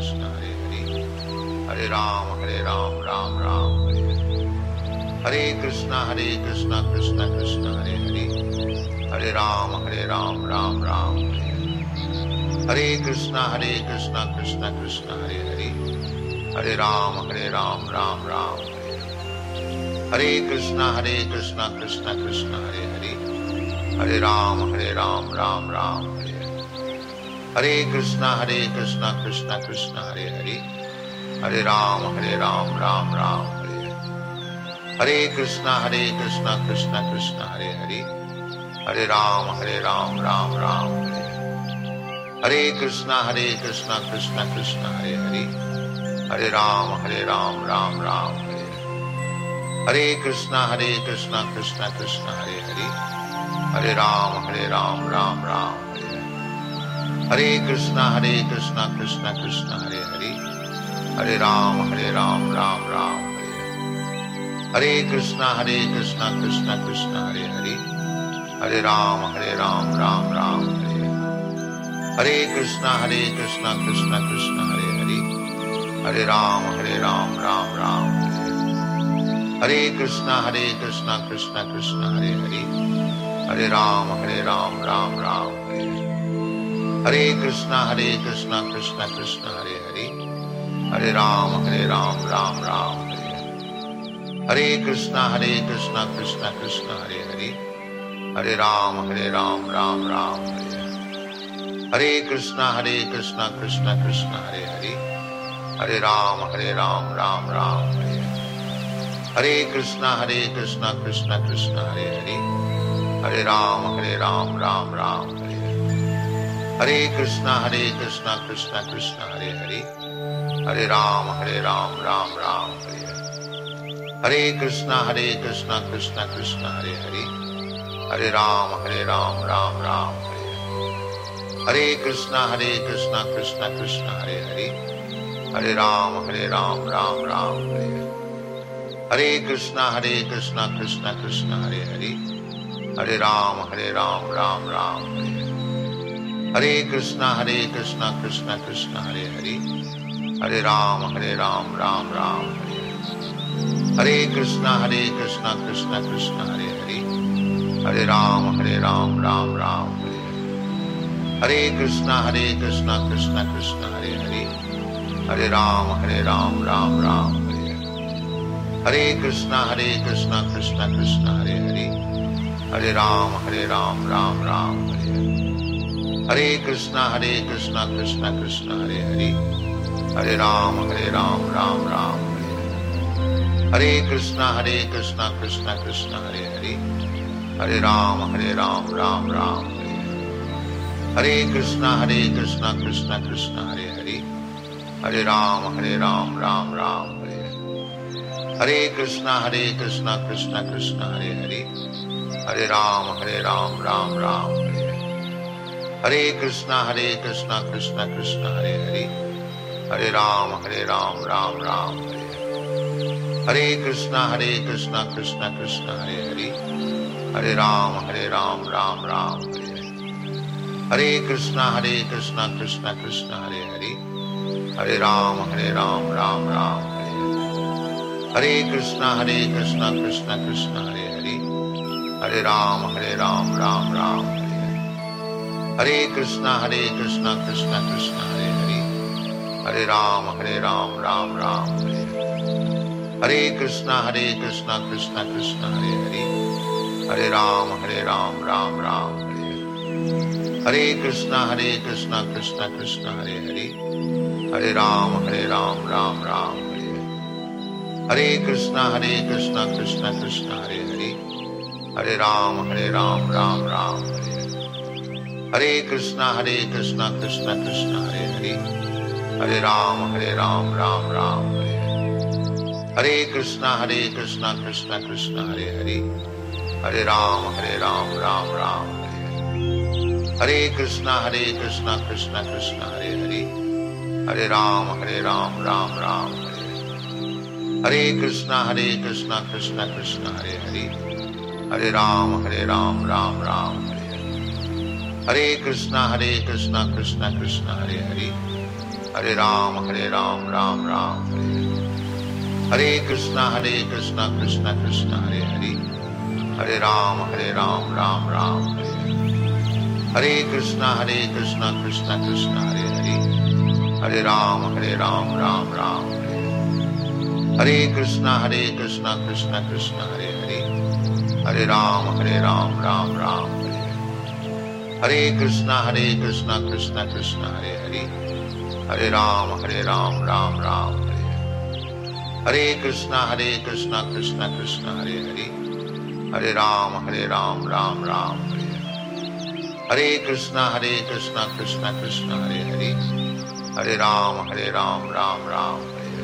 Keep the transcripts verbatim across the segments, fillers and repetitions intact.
Krishna Hare Hare Hare Ram Hare Ram Ram Ram Hare Hare Hare Krishna Hare Krishna Krishna Krishna Hare Hare Hare Ram Hare Ram Ram Ram Hare Hare Hare Krishna Hare Krishna Krishna Krishna Hare Hare Hare Ram Hare Ram Ram Ram Hare Hare Hare Krishna Hare Krishna Krishna Krishna Hare Hare Hare Ram Hare Ram Ram Ram Hare Hare Hare Krishna Hare Krishna Krishna Krishna Hare Hare Hare Ram Hare Ram Ram Ram Hare Hare Hare Krishna Hare Krishna Krishna Krishna Hare Hare Hare Ram Hare Ram Ram Ram Hare Hare Hare Krishna Hare Krishna Krishna Krishna Hare Hare Hare Ram Hare Ram Ram Ram Hare Hare Hare Krishna Hare Krishna Krishna Krishna Hare Hare Hare Ram Hare Ram Ram Ram Hare Hare Hare Krishna Hare Krishna Krishna Krishna Hare Hare Hare Ram Hare Ram Ram Ram Hare Hare Hare Krishna Hare Krishna Krishna Krishna Hare Hare Hare Ram Hare Ram Ram Ram Hare Hare Hare Krishna Hare Krishna Krishna Krishna Hare Hare Hare Ram Hare Ram Ram Ram Hare Hare Hare Krishna Hare Krishna Krishna Krishna Hare Hare Hare Ram Hare Ram Ram Ram Hare Hare Hare Krishna Hare Krishna Krishna Krishna Hare Hare Hare Ram Hare Ram Ram Ram Hare Hare Hare Krishna Hare Krishna Krishna Krishna Hare Hare Hare Ram Hare Ram Ram Ram Hare Hare Hare Krishna Hare Krishna Krishna Krishna Hare Hare Hare Ram Hare Ram Ram Ram Hare Hare Hare Krishna Hare Krishna Krishna Krishna Hare Hare Hare Ram Hare Ram Ram Ram Hare Hare Hare Krishna Hare Krishna Krishna Krishna Hare Hare Hare Ram Hare Ram Ram Ram Hare Hare Hare Krishna Hare Krishna Krishna Krishna Hare Hare Hare Ram Hare Ram Ram Ram Hare Hare Hare Krishna Hare Krishna Krishna Krishna Hare Hare Hare Ram Hare Ram Ram Ram Hare Hare Hare Krishna Hare Krishna Krishna Krishna Hare Hare Hare Ram Hare Ram Ram Ram Hare Hare Hare Krishna Hare Krishna Krishna Krishna Hare Hare Hare Ram Hare Ram Ram Ram Hare Hare Hare Krishna Hare Krishna Krishna Krishna Hare Hare Hare Ram Hare Ram Ram Ram Hare Hare Hare Krishna Hare Krishna Krishna Krishna Hare Hare Hare Ram Hare Ram Ram Ram Hare Hare Hare Krishna Hare Krishna Krishna Krishna Hare Hare Hare Ram Hare Ram Ram Ram Hare Hare Hare Krishna Hare Krishna Krishna Krishna Hare Hare Hare Ram Hare Ram Ram Ram Hare Hare Hare Krishna Hare Krishna Krishna Krishna Hare Hare Hare Ram Hare Ram Ram Ram Hare Hare Hare Krishna Hare Krishna Krishna Krishna Hare Hare Hare Ram Hare Ram Ram Ram Hare Hare Hare Krishna Hare Krishna Krishna Krishna Hare Hare Hare Ram Hare Ram Ram Ram Hare Hare Hare Krishna Hare Krishna Krishna Krishna Hare Hare Hare Ram Hare Ram Ram Ram Hare Hare Hare Krishna Hare Krishna Krishna Krishna Hare Hare Hare Ram Hare Ram Ram Ram Hare Hare Hare Krishna Hare Krishna Krishna Krishna Hare Hare Hare Ram Hare Ram Ram Ram Hare Hare Hare Krishna Hare Krishna Krishna Krishna Hare Hare Hare Ram Hare Ram Ram Ram Hare Hare Hare Krishna Hare Krishna Krishna Krishna Hare Hare Hare Ram Hare Ram Ram Ram Hare Hare Hare Krishna Hare Krishna Krishna Krishna Hare Hare Hare Ram Hare Ram Ram Ram Hare Hare Hare Krishna Hare Krishna Krishna Krishna Hare Hare Hare Ram Hare Ram Ram Ram Hare Hare Hare Krishna Hare Krishna Krishna Krishna Hare Hare Hare Ram Hare Ram Ram Ram Hare Hare Hare Krishna Hare Krishna Krishna Krishna Hare Hare Hare Ram Hare Ram Ram Ram Hare Hare Hare Krishna Hare Krishna Krishna Krishna Hare Hare Hare Ram Hare Ram Ram Ram Hare Hare Hare Krishna Hare Krishna Krishna Krishna Hare Hare Hare Ram Hare Ram Ram Ram Hare Hare Hare Krishna Hare Krishna Krishna Krishna Hare Hare Hare Ram Hare Ram Ram Ram Hare Hare Hare Krishna Hare Krishna Krishna Krishna Hare Hare Hare Ram, Hare Ram, Ram Ram, Hare Krishna, Hare Krishna, Krishna Krishna, Hare Hare, Hare Ram, Hare Ram, Ram Ram, Hare Krishna, Hare Krishna, Krishna Krishna, Hare Hare, Hare Ram, Hare Ram, Ram Ram, Hare Krishna, Hare Krishna, Krishna Krishna, Hare Hare, Hare Ram, Hare Ram, Ram Ram, Hare Krishna, Hare Krishna, Krishna Krishna, Hare Hare, Hare Ram, Hare Ram, Ram Ram, Hare Krishna, Hare Krishna, Krishna Krishna, Hare Hare, Hare Ram, Hare Ram, Ram Ram, Hare Krishna, Hare Krishna, Krishna Krishna, Hare Hare, Hare Ram, Hare Ram, Ram Ram,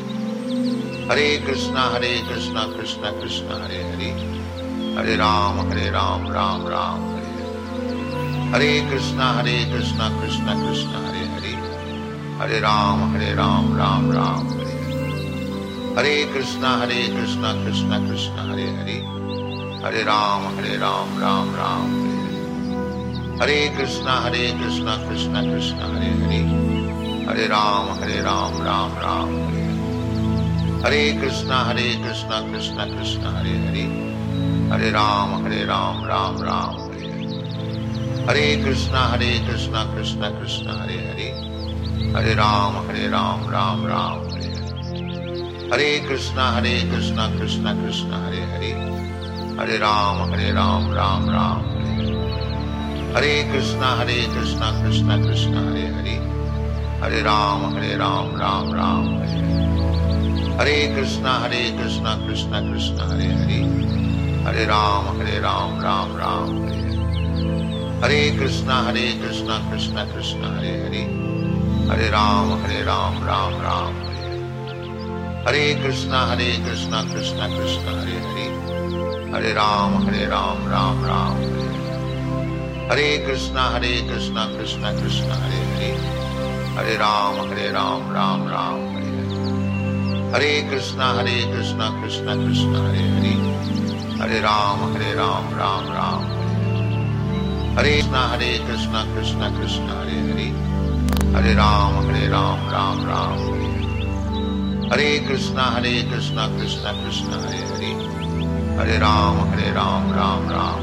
Hare Krishna, Hare Krishna, Krishna Krishna, Hare Hare, Hare Ram, Hare Ram, Ram Ram, Hare Krishna, Hare Krishna, Krishna Krishna, Hare Hare, Hare Ram, Hare Ram, Ram Ram, Hare Krishna, Hare Krishna, Krishna Krishna, Hare Hare, Hare Ram, Hare Ram, Ram Ram, Hare Krishna, Hare Krishna, Krishna Krishna, Hare Hare, Hare Ram, Hare Ram, Ram Ram, Hare Krishna, Hare Krishna, Krishna Krishna, Hare Hare, Hare Ram, Hare Ram, Ram Ram, Hare Krishna, Hare Krishna, Krishna Krishna, Hare Hare, Hare Ram, Hare Ram, Ram Ram, Hare Krishna, Hare Krishna, Krishna Krishna, Hare Hare, Hare Ram, Hare Ram, Ram Ram, Hare Krishna, Hare Krishna, Krishna Krishna, Hare Hare, Hare Ram, Hare Ram, Ram Ram, Hare Krishna, Hare Krishna, Krishna Krishna, Hare Hare, Hare Ram, Hare Ram, Ram Ram, Hare Krishna, Hare Krishna, Krishna Krishna, Hare Hare, Hare Ram, Hare Ram, Ram Ram, Hare Krishna, Hare Krishna, Krishna Krishna, Hare Hare, Hare Ram, Hare Ram, Ram Ram, Hare Krishna, Hare Krishna, Krishna Krishna, Hare Hare, Hare Ram, Hare Ram, Ram Ram, Hare Krishna, Hare Krishna, Krishna Krishna, Hare Hare, Hare Ram, Hare Ram, Ram Ram, Hare Krishna, Hare Krishna, Krishna Krishna, Hare Hare, Hare Ram, Hare Ram, Ram Ram, Hare Krishna, Hare Krishna, Krishna Krishna, Hare Hare, Hare Ram, Hare Ram, Ram Ram,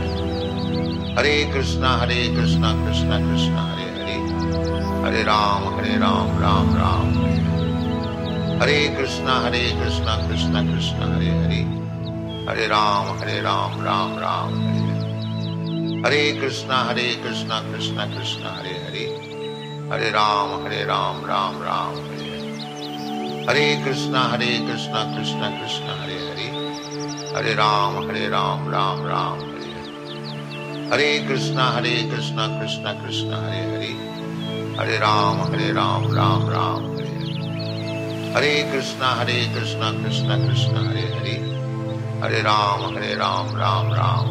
Hare Krishna, Hare Krishna, Krishna Krishna, Hare Hare, Hare Ram, Hare Ram, Ram Ram, Hare Krishna, Hare Krishna, Krishna Krishna, Hare Hare, Hare Ram, Hare Ram, Ram Ram, Hare Krishna, Hare Krishna, Krishna Krishna, Hare Hare, Hare Ram, Hare Ram, Ram Ram, Hare Krishna, Hare Krishna, Krishna Krishna, Hare Hare, Hare Ram, Hare Ram, Ram Ram, Hare Krishna, Hare Krishna, Krishna Krishna, Hare Hare, Hare Ram, Hare Ram, Ram Ram, Hare Krishna, Hare Krishna, Krishna Krishna, Hare Hare, Hare Ram, Hare Ram, Ram Ram,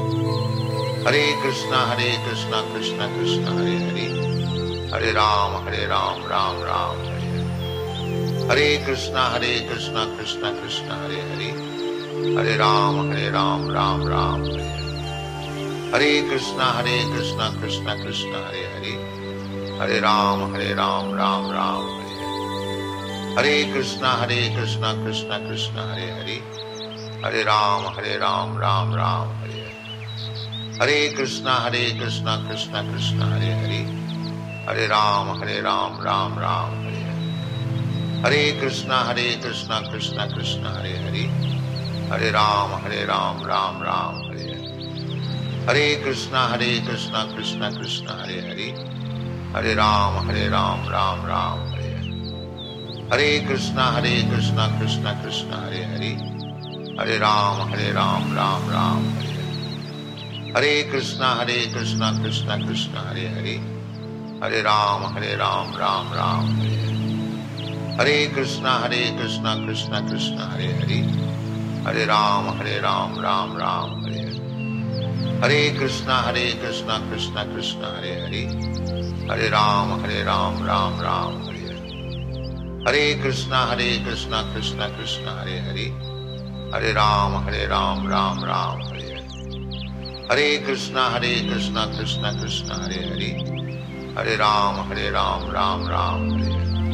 Hare Krishna, Hare Krishna, Krishna Krishna, Hare Hare, Hare Ram, Hare Ram, Ram Ram, Hare Krishna, Hare Krishna, Krishna Krishna, Hare Hare, Hare Ram, Hare Ram, Ram Ram, Hare Krishna, Hare Krishna, Krishna Krishna, Hare Hare, Hare Ram, Hare Ram, Ram Ram, Hare Krishna, Hare Krishna, Krishna Krishna, Hare Hare, Hare Ram, Hare Ram, Ram Ram, Hare Krishna, Hare Krishna, Krishna Krishna, Hare Hare, Hare Ram, Hare Ram, Ram Ram, Hare Krishna, Hare Krishna, Krishna Krishna, Hare Hare, Hare Ram, Hare Ram, Ram Ram, Hare Krishna, Hare Krishna, Krishna Krishna, Hare Hare, Hare Ram, Hare Ram, Ram Ram, Hare Krishna, Hare Krishna, Krishna Krishna, Hare Hare, Hare Ram, Hare Ram, Ram Ram, Hare Krishna, Hare Krishna, Krishna Krishna, Hare Hare, Hare Ram, Hare Ram, Ram Ram, Hare Krishna, Hare Krishna, Krishna Krishna, Hare Hare, Hare Ram, Hare Ram, Ram Ram, Hare Krishna, Hare Krishna, Krishna Krishna, Hare Hare, Hare Ram, Hare Ram, Ram Ram, Hare Krishna, Hare Krishna, Krishna Krishna, Hare Hare, Hare Ram, Hare Ram, Ram Ram, Hare Krishna, Hare Krishna, Krishna Krishna, Hare Hare, Hare Ram, Hare Ram, Ram Ram,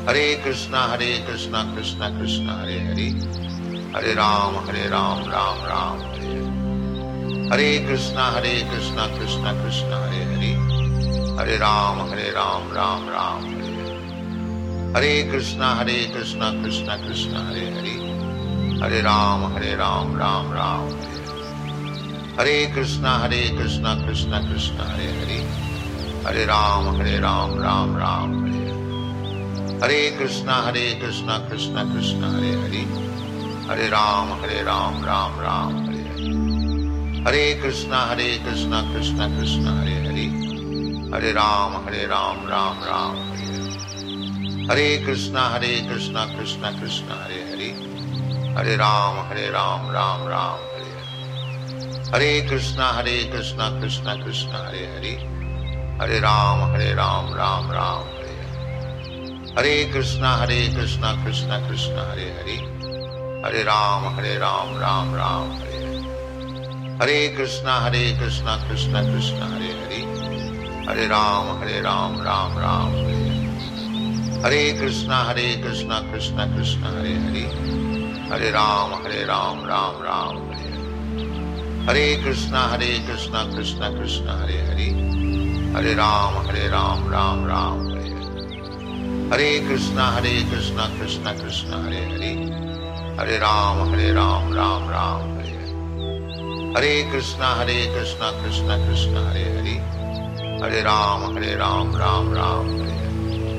Hare कृष्णा Hare कृष्णा कृष्णा कृष्णा हरे हरे, Hare राम Hare राम राम राम हरे हरे, Hare कृष्णा Hare कृष्णा कृष्णा कृष्णा हरे हरे, Hare राम Hare राम राम राम हरे हरे, Hare कृष्णा Hare कृष्णा कृष्णा कृष्णा हरे हरे, Hare राम Hare राम राम राम हरे हरे, Hare कृष्णा Hare कृष्णा कृष्णा कृष्णा हरे हरे, Hare राम Hare राम राम राम हरे हरे, Hare कृष्णा Hare कृष्णा कृष्णा कृष्णा हरे हरे, Hare राम Hare राम राम राम हरे हरे, Hare कृष्णा Hare कृष्णा कृष्णा कृष्णा हरे हरे, Hare राम Hare राम राम राम हरे हरे, Hare कृष्णा Hare कृष्णा कृष्णा कृष्णा हरे हरे, Hare राम Hare राम राम राम हरे हरे, Hare कृष्णा Hare कृष्णा कृष्णा कृष्णा हरे हरे, Hare राम Hare राम राम राम हरे हरे, Hare कृष्णा Hare कृष्णा कृष्णा कृष्णा हरे हरे, Hare राम Hare राम राम राम हरे हरे, Hare कृष्णा Hare कृष्णा कृष्णा कृष्णा हरे हरे, Hare राम Hare राम राम राम हरे हरे, Hare कृष्णा Hare कृष्णा कृष्णा कृष्णा हरे हरे, Hare राम Hare राम राम राम हरे हरे, Hare कृष्णा Hare कृष्णा कृष्णा कृष्णा हरे हरे, Hare राम Hare राम राम राम हरे हरे, Hare कृष्णा Hare कृष्णा कृष्णा कृष्णा हरे हरे, Hare राम Hare राम राम राम हरे हरे, Hare कृष्णा Hare कृष्णा कृष्णा कृष्णा हरे हरे, Hare राम Hare राम राम राम हरे हरे,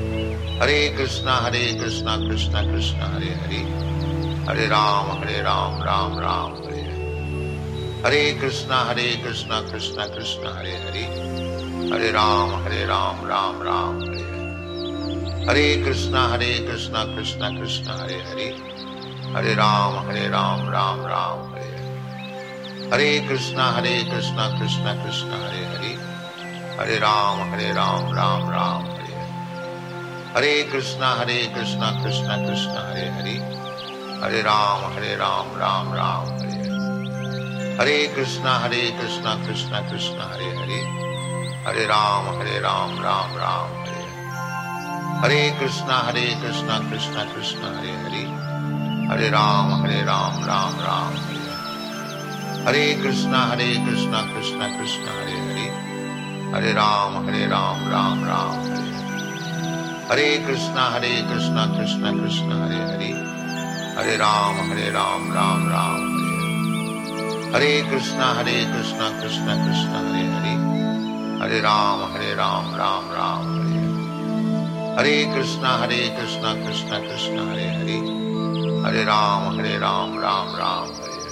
Hare कृष्णा Hare कृष्णा कृष्णा कृष्णा हरे हरे, Hare राम Hare राम राम राम हरे हरे, Hare कृष्णा Hare कृष्णा कृष्णा कृष्णा हरे हरे, Hare राम Hare राम राम राम हरे हरे, Hare कृष्णा Hare कृष्णा कृष्णा कृष्णा हरे हरे, Hare राम Hare राम राम राम हरे हरे, Hare कृष्णा Hare कृष्णा कृष्णा कृष्णा हरे हरे, Hare राम Hare राम राम राम हरे हरे, Hare कृष्णा Hare कृष्णा कृष्णा कृष्णा हरे हरे, Hare राम Hare राम राम राम हरे हरे, Hare कृष्णा Hare कृष्णा कृष्णा कृष्णा हरे हरे, Hare राम Hare राम राम राम हरे हरे, Hare कृष्णा Hare कृष्णा कृष्णा कृष्णा हरे हरे, Hare राम Hare राम राम राम हरे हरे, Hare कृष्णा Hare कृष्णा कृष्णा कृष्णा हरे हरे, Hare राम Hare राम राम राम हरे हरे, Hare कृष्णा Hare कृष्णा कृष्णा कृष्णा हरे हरे, Hare राम Hare राम राम राम हरे हरे, Hare कृष्णा Hare कृष्णा कृष्णा कृष्णा हरे हरे, Hare राम Hare राम राम राम हरे हरे, Hare कृष्णा Hare कृष्णा कृष्णा कृष्णा हरे हरे, Hare राम Hare राम राम राम हरे हरे,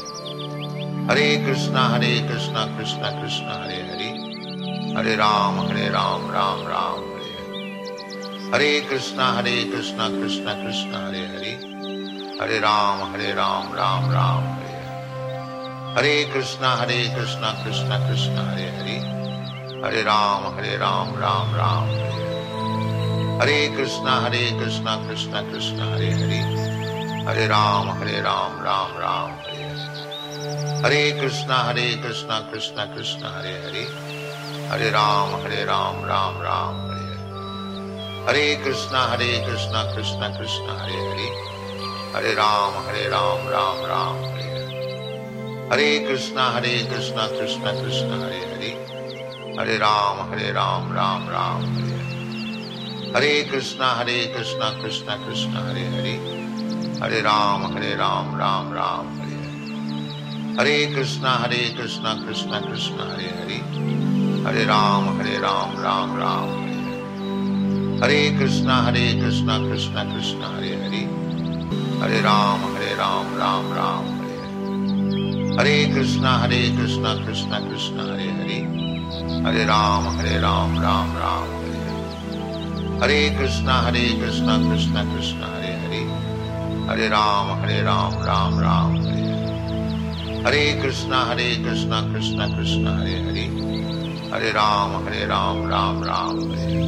Hare कृष्णा Hare कृष्णा कृष्णा कृष्णा हरे हरे, Hare राम Hare राम राम राम हरे हरे, Hare कृष्णा Hare कृष्णा कृष्णा कृष्णा हरे हरे, Hare राम Hare राम राम राम हरे हरे, Hare कृष्णा Hare कृष्णा कृष्णा कृष्णा हरे हरे, Hare राम Hare राम राम राम हरे हरे, Hare कृष्णा Hare कृष्णा कृष्णा कृष्णा हरे हरे, Hare राम Hare राम राम राम हरे हरे, Hare कृष्णा Hare कृष्णा कृष्णा कृष्णा हरे हरे, Hare राम Hare राम राम राम हरे हरे, Hare कृष्णा Hare कृष्णा कृष्णा कृष्णा हरे हरे, Hare राम Hare राम राम राम हरे हरे, Hare कृष्णा Hare कृष्णा कृष्णा कृष्णा हरे हरे, Hare राम Hare राम राम राम हरे हरे, Hare कृष्णा Hare कृष्णा कृष्णा कृष्णा हरे हरे, Hare राम Hare राम राम राम हरे हरे, Hare कृष्णा Hare कृष्णा कृष्णा कृष्णा हरे हरे, Hare राम Hare राम राम राम हरे हरे, Hare कृष्णा Hare कृष्णा कृष्णा कृष्णा हरे हरे, Hare राम Hare राम राम राम हरे हरे, Hare कृष्णा Hare कृष्णा कृष्णा कृष्णा हरे हरे, Hare राम Hare राम राम राम हरे हरे, Hare कृष्णा Hare कृष्णा कृष्णा कृष्णा हरे हरे, Hare राम Hare राम राम राम हरे हरे, Hare कृष्णा Hare कृष्णा कृष्णा कृष्णा हरे हरे, Hare राम Hare राम राम राम हरे हरे,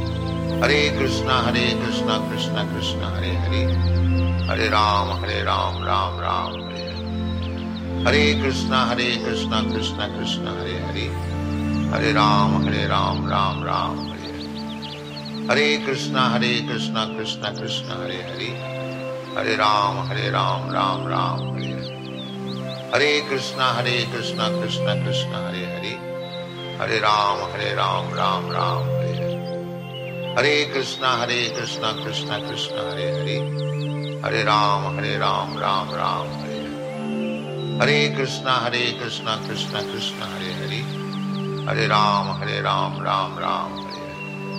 Hare कृष्णा Hare कृष्णा कृष्णा कृष्णा हरे हरे, Hare राम Hare राम राम राम हरे हरे, Hare कृष्णा Hare कृष्णा कृष्णा कृष्णा हरे हरे, Hare राम Hare राम राम राम हरे हरे, Hare कृष्णा Hare कृष्णा कृष्णा कृष्णा हरे हरे, Hare राम Hare राम राम राम हरे हरे, Hare कृष्णा Hare कृष्णा कृष्णा कृष्णा हरे हरे, Hare राम Hare राम राम राम हरे हरे, Hare कृष्णा Hare कृष्णा कृष्णा कृष्णा हरे हरे, Hare राम Hare राम राम राम हरे हरे, Hare कृष्णा Hare कृष्णा कृष्णा कृष्णा हरे हरे, Hare राम Hare राम राम राम हरे हरे,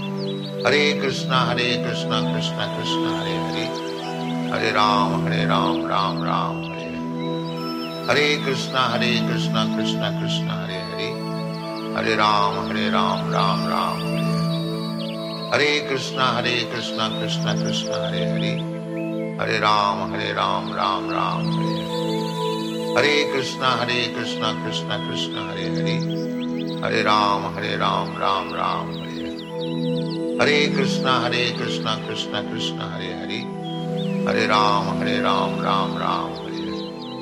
Hare कृष्णा Hare कृष्णा कृष्णा कृष्णा हरे हरे, Hare राम Hare राम राम राम हरे हरे, Hare कृष्णा Hare कृष्णा कृष्णा कृष्णा हरे हरे, Hare राम Hare राम राम राम हरे हरे, Hare कृष्णा Hare कृष्णा कृष्णा कृष्णा हरे हरे, Hare राम Hare राम राम राम हरे हरे, Hare कृष्णा Hare कृष्णा कृष्णा कृष्णा हरे हरे, Hare राम Hare राम राम राम हरे हरे, Hare कृष्णा Hare कृष्णा कृष्णा कृष्णा हरे हरे, Hare राम Hare राम राम राम हरे हरे,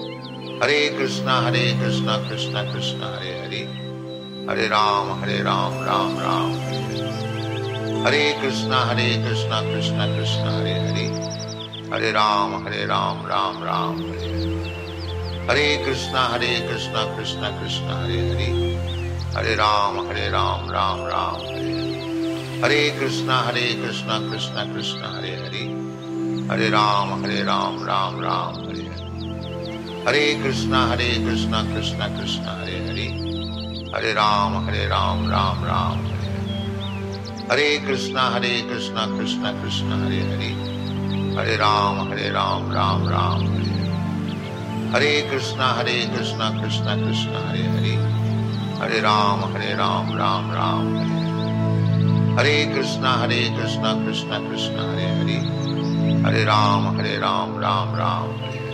Hare कृष्णा Hare कृष्णा कृष्णा कृष्णा हरे हरे, Hare राम Hare राम राम राम हरे हरे, Hare कृष्णा Hare कृष्णा कृष्णा कृष्णा हरे हरे, Hare राम Hare राम राम राम हरे हरे, Hare कृष्णा Hare कृष्णा कृष्णा कृष्णा हरे हरे, Hare राम Hare राम राम राम हरे हरे, Hare कृष्णा Hare कृष्णा कृष्णा कृष्णा हरे हरे, Hare राम Hare राम राम राम हरे हरे, Hare कृष्णा Hare कृष्णा कृष्णा कृष्णा हरे हरे, Hare राम Hare राम राम राम हरे हरे, Hare कृष्णा Hare कृष्णा कृष्णा कृष्णा हरे हरे, Hare राम Hare राम राम राम हरे हरे, Hare कृष्णा Hare कृष्णा कृष्णा कृष्णा हरे हरे, Hare राम Hare राम राम राम हरे हरे, Hare कृष्णा Hare कृष्णा कृष्णा कृष्णा हरे हरे, Hare राम Hare राम राम राम हरे हरे,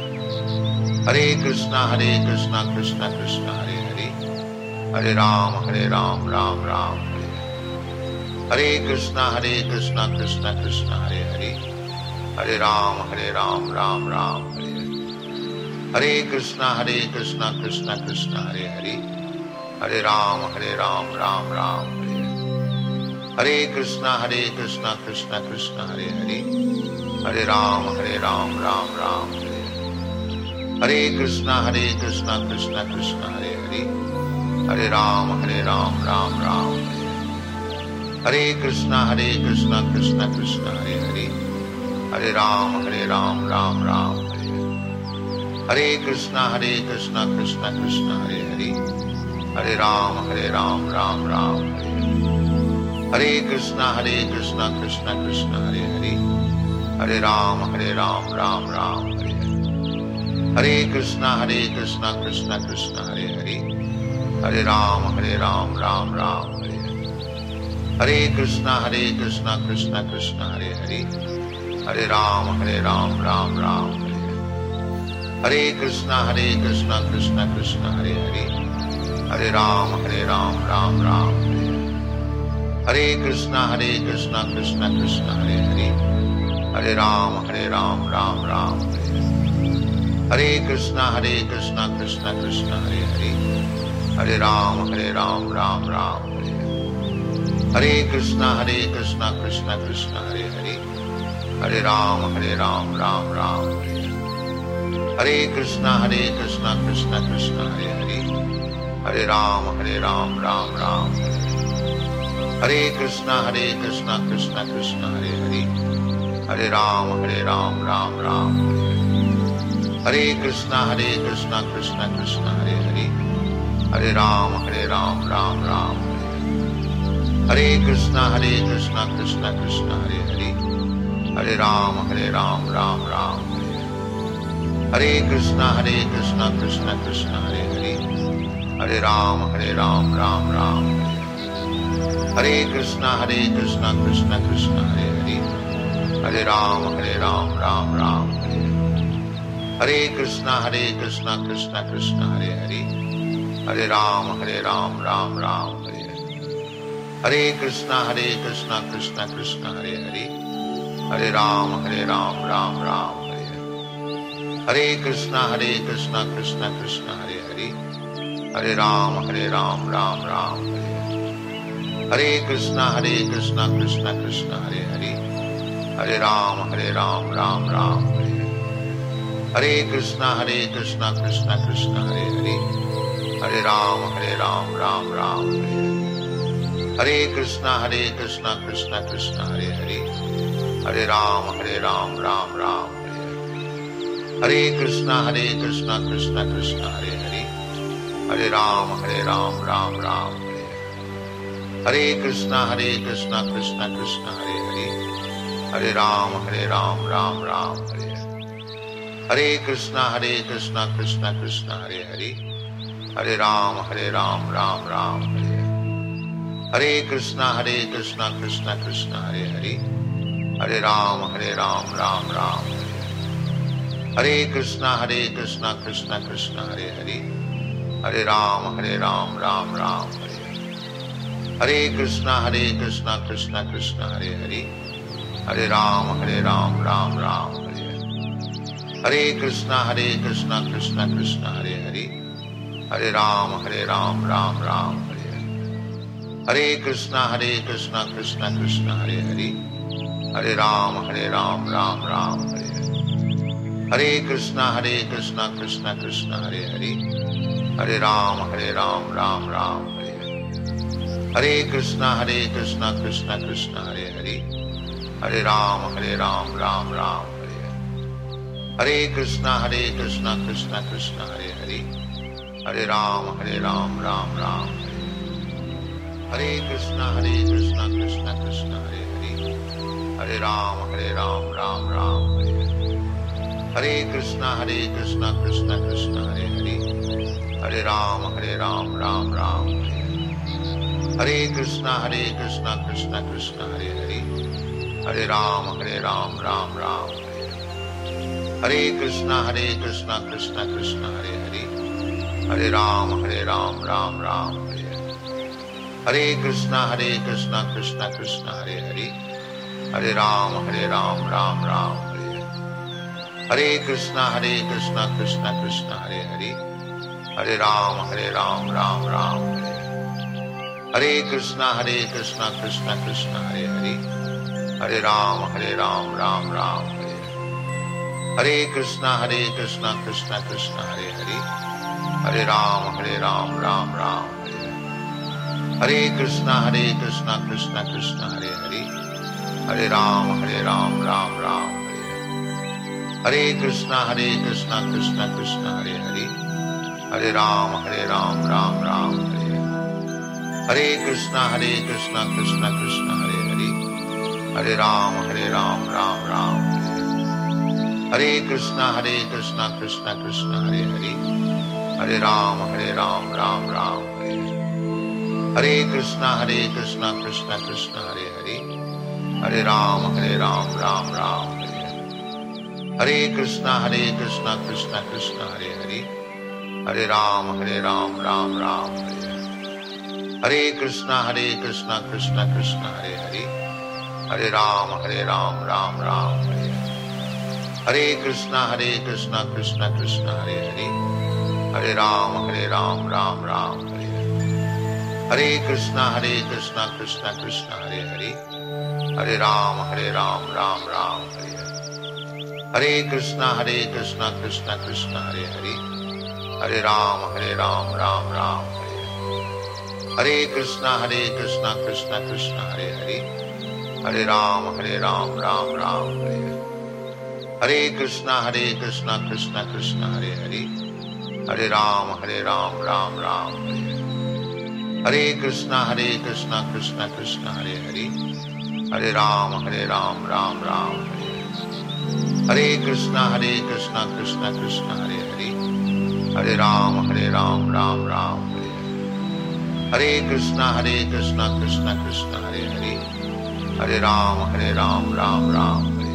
Hare कृष्णा Hare कृष्णा कृष्णा कृष्णा हरे हरे, Hare राम Hare राम राम राम हरे हरे, Hare कृष्णा Hare कृष्णा कृष्णा कृष्णा हरे हरे, Hare राम Hare राम राम राम हरे हरे, Hare कृष्णा Hare कृष्णा कृष्णा कृष्णा हरे हरे, Hare राम Hare राम राम राम हरे हरे, Hare कृष्णा Hare कृष्णा कृष्णा कृष्णा हरे हरे, Hare राम Hare राम राम राम हरे हरे, Hare कृष्णा Hare कृष्णा कृष्णा कृष्णा हरे हरे, Hare राम Hare राम राम राम हरे हरे, Hare कृष्णा Hare कृष्णा कृष्णा कृष्णा हरे हरे, Hare राम Hare राम राम राम हरे हरे, Hare कृष्णा Hare कृष्णा कृष्णा कृष्णा हरे हरे, Hare राम Hare राम राम राम हरे हरे, Hare कृष्णा Hare कृष्णा कृष्णा कृष्णा हरे हरे, Hare राम Hare राम राम राम हरे हरे, Hare कृष्णा Hare कृष्णा कृष्णा कृष्णा हरे हरे, Hare राम Hare राम राम राम हरे हरे, Hare कृष्णा Hare कृष्णा कृष्णा कृष्णा हरे हरे, Hare राम Hare राम राम राम हरे हरे, Hare कृष्णा Hare कृष्णा कृष्णा कृष्णा हरे हरे, Hare राम Hare राम राम राम हरे हरे, Hare कृष्णा Hare कृष्णा कृष्णा कृष्णा हरे हरे, Hare राम Hare राम राम राम हरे हरे, Hare कृष्णा Hare कृष्णा कृष्णा कृष्णा हरे हरे, Hare राम Hare राम राम राम हरे हरे, Hare कृष्णा Hare कृष्णा कृष्णा कृष्णा हरे हरे, Hare राम Hare राम राम राम हरे हरे, Hare कृष्णा Hare कृष्णा कृष्णा कृष्णा हरे हरे, Hare राम Hare राम राम राम हरे हरे, Hare कृष्णा Hare कृष्णा कृष्णा कृष्णा हरे हरे, Hare राम Hare राम राम राम हरे हरे, Hare कृष्णा Hare कृष्णा कृष्णा कृष्णा हरे हरे, Hare राम Hare राम राम राम हरे हरे, Hare कृष्णा Hare कृष्णा कृष्णा कृष्णा हरे हरे, Hare राम Hare राम राम राम हरे हरे, Hare कृष्णा Hare कृष्णा कृष्णा कृष्णा हरे हरे, Hare राम Hare राम राम राम हरे हरे, Hare कृष्णा Hare कृष्णा कृष्णा कृष्णा हरे हरे, Hare राम Hare राम राम राम हरे हरे, Hare कृष्णा Hare कृष्णा कृष्णा कृष्णा हरे हरे, Hare राम Hare राम राम राम हरे हरे, Hare कृष्णा Hare कृष्णा कृष्णा कृष्णा हरे हरे, Hare राम Hare राम राम राम हरे हरे, Hare कृष्णा Hare कृष्णा कृष्णा कृष्णा हरे हरे, Hare राम Hare राम राम राम हरे हरे, Hare कृष्णा Hare कृष्णा कृष्णा कृष्णा हरे हरे, Hare राम Hare राम राम राम हरे हरे, Hare कृष्णा Hare कृष्णा कृष्णा कृष्णा हरे हरे, Hare राम Hare राम राम राम हरे हरे, Hare कृष्णा Hare कृष्णा कृष्णा कृष्णा हरे हरे, Hare राम Hare राम राम राम हरे हरे, Hare कृष्णा Hare कृष्णा कृष्णा कृष्णा हरे हरे, Hare राम Hare राम राम राम हरे हरे, Hare कृष्णा Hare कृष्णा कृष्णा कृष्णा हरे हरे, Hare राम Hare राम राम राम हरे हरे, Hare कृष्णा Hare कृष्णा कृष्णा कृष्णा हरे हरे, Hare राम Hare राम राम राम हरे हरे, Hare कृष्णा Hare कृष्णा कृष्णा कृष्णा हरे हरे, Hare राम Hare राम राम राम हरे हरे, Hare कृष्णा Hare कृष्णा कृष्णा कृष्णा हरे हरे, Hare राम Hare राम राम राम हरे हरे, Hare कृष्णा Hare कृष्णा कृष्णा कृष्णा हरे हरे, Hare राम Hare राम राम राम हरे हरे, Hare कृष्णा Hare कृष्णा कृष्णा कृष्णा हरे हरे, Hare राम Hare राम राम राम हरे हरे, Hare कृष्णा Hare कृष्णा कृष्णा कृष्णा हरे हरे, Hare राम Hare राम राम राम हरे हरे, Hare कृष्णा Hare कृष्णा कृष्णा कृष्णा हरे हरे, Hare राम Hare राम राम राम हरे हरे, Hare कृष्णा Hare कृष्णा कृष्णा कृष्णा हरे हरे, Hare राम Hare राम राम राम हरे हरे, Hare कृष्णा Hare कृष्णा कृष्णा कृष्णा हरे हरे, Hare राम Hare राम राम राम हरे हरे, Hare कृष्णा Hare कृष्णा कृष्णा कृष्णा हरे हरे, Hare राम Hare राम राम राम हरे हरे, Hare कृष्णा Hare कृष्णा कृष्णा कृष्णा हरे हरे, Hare राम Hare राम राम राम हरे हरे, Hare कृष्णा Hare कृष्णा कृष्णा कृष्णा हरे हरे, Hare राम Hare राम राम राम हरे हरे, Hare कृष्णा Hare कृष्णा कृष्णा कृष्णा हरे हरे, Hare राम Hare राम राम राम हरे हरे, Hare कृष्णा Hare कृष्णा कृष्णा कृष्णा हरे हरे, Hare राम Hare राम राम राम हरे हरे, Hare कृष्णा Hare कृष्णा कृष्णा कृष्णा हरे हरे, Hare राम Hare राम राम राम हरे हरे, Hare कृष्णा Hare कृष्णा कृष्णा कृष्णा हरे हरे, Hare राम Hare राम राम राम हरे हरे, Hare कृष्णा Hare कृष्णा कृष्णा कृष्णा हरे हरे, Hare राम Hare राम राम राम हरे हरे, Hare कृष्णा Hare कृष्णा कृष्णा कृष्णा हरे हरे, Hare राम Hare राम राम राम हरे हरे, Hare कृष्णा Hare कृष्णा कृष्णा कृष्णा हरे हरे, Hare राम Hare राम राम राम हरे हरे, Hare कृष्णा Hare कृष्णा कृष्णा कृष्णा हरे हरे, Hare राम Hare राम राम राम हरे हरे, Hare कृष्णा Hare कृष्णा कृष्णा कृष्णा हरे हरे, Hare राम Hare राम राम राम हरे हरे, Hare कृष्णा Hare कृष्णा कृष्णा कृष्णा हरे हरे, Hare राम Hare राम राम राम हरे हरे, Hare कृष्णा Hare कृष्णा कृष्णा कृष्णा हरे हरे, Hare राम Hare राम राम राम हरे हरे, Hare कृष्णा Hare कृष्णा कृष्णा कृष्णा हरे हरे, Hare राम Hare राम राम राम हरे हरे, Hare कृष्णा Hare कृष्णा कृष्णा कृष्णा हरे हरे, Hare राम Hare राम राम राम हरे हरे, Hare कृष्णा Hare कृष्णा कृष्णा कृष्णा हरे हरे, Hare राम Hare राम राम राम हरे हरे, Hare कृष्णा Hare कृष्णा कृष्णा कृष्णा हरे हरे, Hare राम Hare राम राम राम हरे हरे, Hare कृष्णा Hare कृष्णा कृष्णा कृष्णा हरे हरे, Hare राम Hare राम राम राम हरे हरे, Hare कृष्णा Hare कृष्णा कृष्णा कृष्णा हरे हरे, Hare राम Hare राम राम राम हरे हरे, Hare कृष्णा Hare कृष्णा कृष्णा कृष्णा हरे हरे, Hare राम Hare राम राम राम हरे हरे, Hare कृष्णा Hare कृष्णा कृष्णा कृष्णा हरे हरे, Hare राम Hare राम राम राम हरे हरे, Hare कृष्णा Hare कृष्णा कृष्णा कृष्णा हरे हरे, Hare राम Hare राम राम राम हरे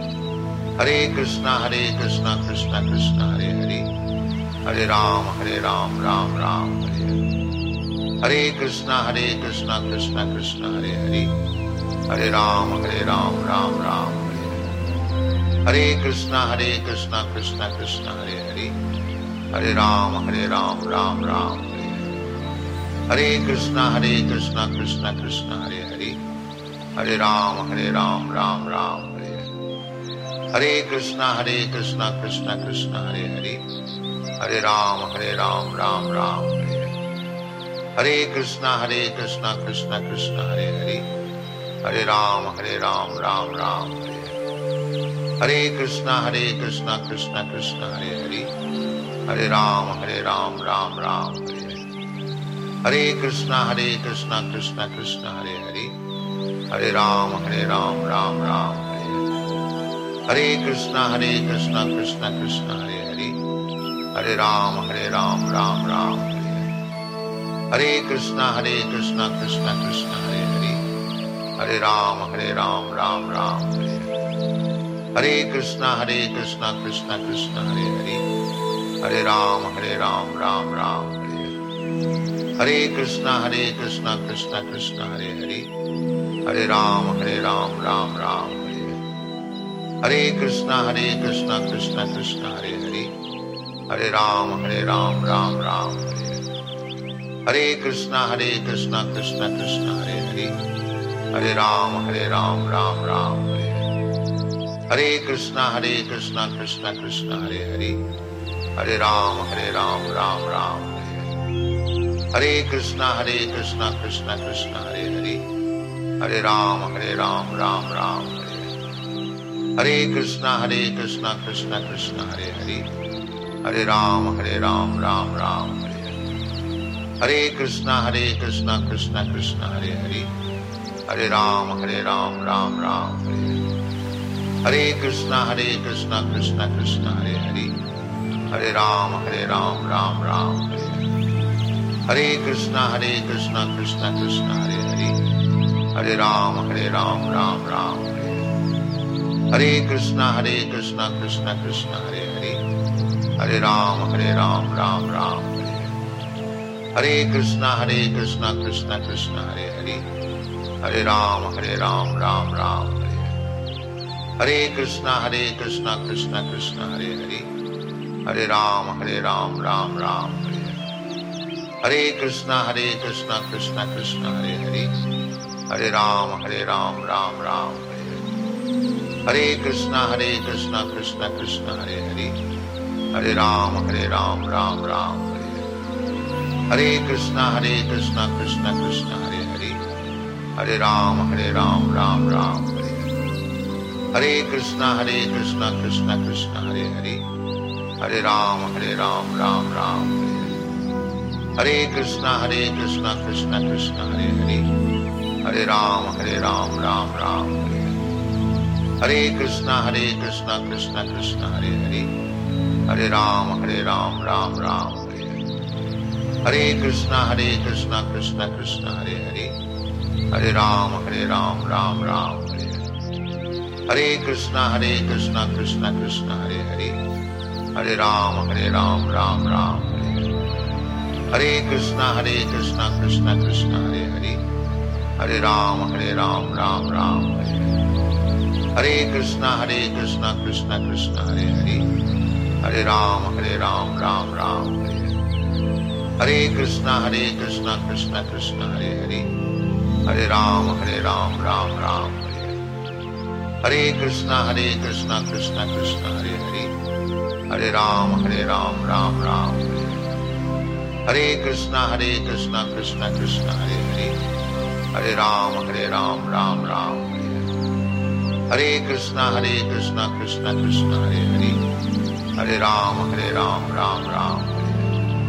हरे, Hare कृष्णा Hare कृष्णा कृष्णा कृष्णा हरे हरे, Hare राम Hare राम राम राम हरे हरे, Hare कृष्णा Hare कृष्णा कृष्णा कृष्णा हरे हरे, Hare राम Hare राम राम राम हरे हरे, Hare कृष्णा Hare कृष्णा कृष्णा कृष्णा हरे हरे, Hare राम Hare राम राम राम हरे हरे, Hare कृष्णा Hare कृष्णा कृष्णा कृष्णा हरे हरे, Hare राम Hare राम राम राम हरे हरे, Hare कृष्णा Hare कृष्णा कृष्णा कृष्णा हरे हरे, Hare राम Hare राम राम राम हरे हरे, Hare कृष्णा Hare कृष्णा कृष्णा कृष्णा हरे हरे, Hare राम Hare राम राम राम हरे हरे, Hare कृष्णा Hare कृष्णा कृष्णा कृष्णा हरे हरे, Hare राम Hare राम राम राम हरे हरे, Hare कृष्णा Hare कृष्णा कृष्णा कृष्णा हरे हरे, Hare राम Hare राम राम राम हरे हरे, Hare कृष्णा Hare कृष्णा कृष्णा कृष्णा हरे हरे, Hare राम Hare राम राम राम हरे हरे, Hare कृष्णा Hare कृष्णा कृष्णा कृष्णा हरे हरे, Hare राम Hare राम राम राम हरे हरे, Hare कृष्णा Hare कृष्णा कृष्णा कृष्णा हरे हरे, Hare राम Hare राम राम राम हरे हरे, Hare कृष्णा Hare कृष्णा कृष्णा कृष्णा हरे हरे, Hare राम Hare राम राम राम हरे हरे, Hare कृष्णा Hare कृष्णा कृष्णा कृष्णा हरे हरे, Hare राम Hare राम राम राम हरे हरे, Hare कृष्णा Hare कृष्णा कृष्णा कृष्णा हरे हरे, Hare राम Hare राम राम राम हरे हरे, Hare कृष्णा Hare कृष्णा कृष्णा कृष्णा हरे हरे, Hare राम Hare राम राम राम हरे हरे, Hare कृष्णा Hare कृष्णा कृष्णा कृष्णा हरे हरे, Hare राम Hare राम राम राम हरे हरे, Hare कृष्णा Hare कृष्णा कृष्णा कृष्णा हरे हरे, Hare राम Hare राम राम राम हरे हरे, Hare कृष्णा Hare कृष्णा कृष्णा कृष्णा हरे हरे, Hare राम Hare राम राम राम हरे हरे, Hare कृष्णा Hare कृष्णा कृष्णा कृष्णा हरे हरे, Hare राम Hare राम राम राम हरे हरे, Hare कृष्णा Hare कृष्णा कृष्णा कृष्णा हरे हरे, Hare राम Hare राम राम राम हरे हरे, Hare कृष्णा Hare कृष्णा कृष्णा कृष्णा हरे हरे, Hare राम Hare राम राम राम हरे हरे, Hare कृष्णा Hare कृष्णा कृष्णा कृष्णा हरे हरे, Hare राम Hare राम राम राम हरे हरे, Hare कृष्णा Hare कृष्णा कृष्णा कृष्णा हरे हरे, Hare राम Hare राम राम राम हरे हरे, Hare कृष्णा Hare कृष्णा कृष्णा कृष्णा हरे हरे, Hare राम Hare राम राम राम हरे हरे, Hare कृष्णा Hare कृष्णा कृष्णा कृष्णा हरे हरे, Hare राम Hare राम राम राम हरे हरे, Hare कृष्णा Hare कृष्णा कृष्णा कृष्णा हरे हरे, Hare राम Hare राम राम राम हरे हरे, Hare कृष्णा Hare कृष्णा कृष्णा कृष्णा हरे हरे, Hare राम Hare राम राम राम हरे हरे, Hare कृष्णा Hare कृष्णा कृष्णा कृष्णा हरे हरे, Hare राम Hare राम राम राम हरे हरे, Hare कृष्णा Hare कृष्णा कृष्णा कृष्णा हरे हरे, Hare राम Hare राम राम राम हरे हरे, Hare कृष्णा Hare कृष्णा कृष्णा कृष्णा हरे हरे, Hare राम Hare राम राम राम हरे हरे, Hare कृष्णा Hare कृष्णा कृष्णा कृष्णा हरे हरे, Hare राम Hare राम राम राम हरे हरे, Hare कृष्णा Hare कृष्णा कृष्णा कृष्णा हरे हरे, Hare राम Hare राम राम राम हरे हरे, Hare कृष्णा Hare कृष्णा कृष्णा कृष्णा हरे हरे, Hare राम Hare राम राम राम हरे हरे, Hare कृष्णा Hare कृष्णा कृष्णा कृष्णा हरे हरे, Hare राम Hare राम राम राम हरे हरे, Hare कृष्णा Hare कृष्णा कृष्णा कृष्णा हरे हरे, Hare राम Hare राम राम राम हरे हरे, Hare कृष्णा Hare कृष्णा कृष्णा कृष्णा हरे हरे, Hare राम Hare राम राम राम हरे हरे, Hare कृष्णा Hare कृष्णा कृष्णा कृष्णा हरे हरे, Hare राम Hare राम राम राम हरे हरे,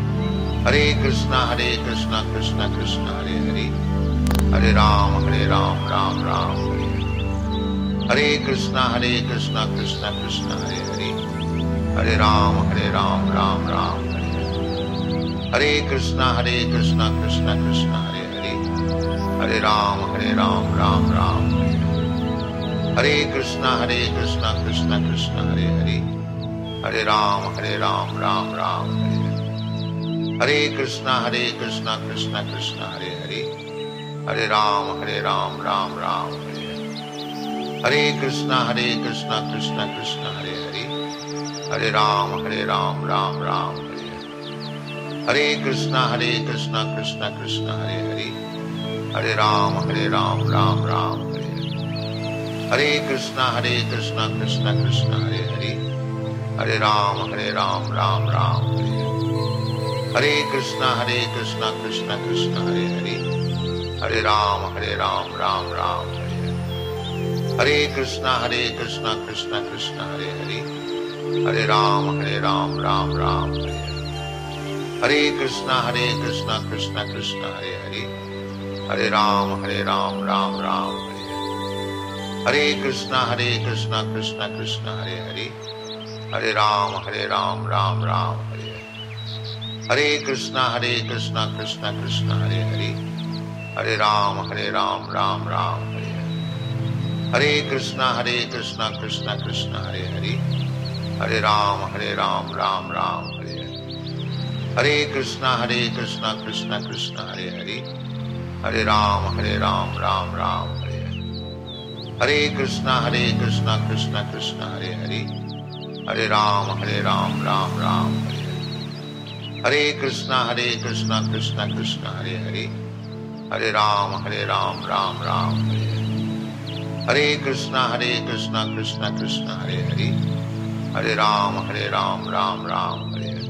Hare कृष्णा Hare कृष्णा कृष्णा कृष्णा हरे हरे, Hare राम Hare राम राम राम हरे हरे, Hare कृष्णा Hare कृष्णा कृष्णा कृष्णा हरे हरे, Hare राम Hare राम राम राम हरे हरे, Hare कृष्णा Hare कृष्णा कृष्णा कृष्णा हरे हरे, Hare राम Hare राम राम राम हरे हरे, Hare कृष्णा Hare कृष्णा कृष्णा कृष्णा हरे हरे, Hare राम Hare राम राम राम हरे हरे, Hare कृष्णा Hare कृष्णा कृष्णा कृष्णा हरे हरे, Hare राम Hare राम राम राम हरे हरे, Hare कृष्णा Hare कृष्णा कृष्णा कृष्णा हरे हरे, Hare राम Hare राम राम राम हरे हरे, Hare कृष्णा Hare कृष्णा कृष्णा कृष्णा हरे हरे, Hare राम Hare राम राम राम हरे हरे, Hare कृष्णा Hare कृष्णा कृष्णा कृष्णा हरे हरे, Hare राम Hare राम राम राम हरे हरे, Hare कृष्णा Hare कृष्णा कृष्णा कृष्णा हरे हरे, Hare राम Hare राम राम राम हरे हरे, Hare कृष्णा Hare कृष्णा कृष्णा कृष्णा हरे हरे, Hare राम Hare राम राम राम हरे हरे, Hare कृष्णा Hare कृष्णा कृष्णा कृष्णा हरे हरे, Hare राम Hare राम राम राम हरे हरे, Hare कृष्णा Hare कृष्णा कृष्णा कृष्णा हरे हरे, Hare राम Hare राम राम राम हरे हरे, Hare कृष्णा Hare कृष्णा कृष्णा कृष्णा हरे हरे, Hare राम Hare राम राम राम हरे हरे, Hare कृष्णा Hare कृष्णा कृष्णा कृष्णा हरे हरे, Hare राम Hare राम राम राम हरे हरे, Hare कृष्णा Hare कृष्णा कृष्णा कृष्णा हरे हरे, Hare राम Hare राम राम राम हरे हरे, Hare कृष्णा Hare कृष्णा कृष्णा कृष्णा हरे हरे, Hare राम Hare राम राम राम हरे हरे, Hare कृष्णा Hare कृष्णा कृष्णा कृष्णा हरे हरे, Hare राम Hare राम राम राम हरे हरे, Hare कृष्णा Hare कृष्णा कृष्णा कृष्णा हरे हरे, Hare राम Hare राम राम राम हरे हरे,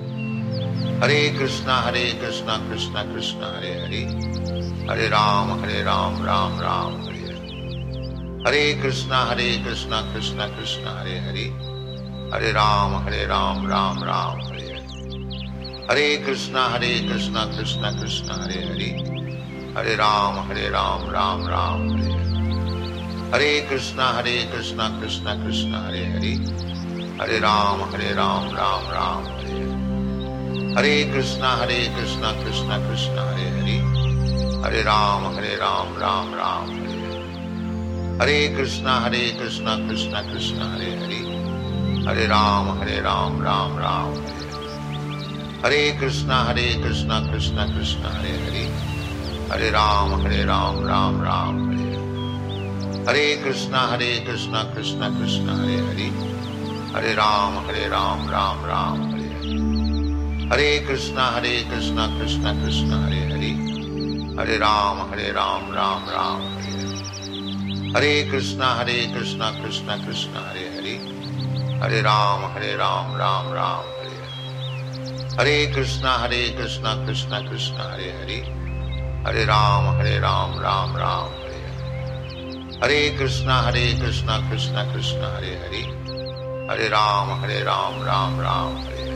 Hare कृष्णा Hare कृष्णा कृष्णा कृष्णा हरे हरे, Hare राम Hare राम राम राम हरे हरे, Hare कृष्णा Hare कृष्णा कृष्णा कृष्णा हरे हरे, Hare राम Hare राम राम राम हरे हरे, Hare कृष्णा Hare कृष्णा कृष्णा कृष्णा हरे हरे, Hare राम Hare राम राम राम हरे हरे, Hare कृष्णा Hare कृष्णा कृष्णा कृष्णा हरे हरे, Hare राम Hare राम राम राम हरे हरे, Hare कृष्णा Hare कृष्णा कृष्णा कृष्णा हरे हरे, Hare राम Hare राम राम राम हरे हरे, Hare कृष्णा Hare कृष्णा कृष्णा कृष्णा हरे हरे, Hare राम Hare राम राम राम हरे हरे, Hare कृष्णा Hare कृष्णा कृष्णा कृष्णा हरे हरे, Hare राम Hare राम राम राम हरे हरे, Hare कृष्णा Hare कृष्णा कृष्णा कृष्णा हरे हरे, Hare राम Hare राम राम राम हरे हरे, Hare कृष्णा Hare कृष्णा कृष्णा कृष्णा हरे हरे, Hare राम Hare राम राम राम हरे हरे, Hare कृष्णा Hare कृष्णा कृष्णा कृष्णा हरे हरे, Hare राम Hare राम राम राम हरे हरे, Hare कृष्णा Hare कृष्णा कृष्णा कृष्णा हरे हरे, Hare राम Hare राम राम राम हरे हरे, Hare कृष्णा Hare कृष्णा कृष्णा कृष्णा हरे हरे, Hare राम Hare राम राम राम हरे हरे,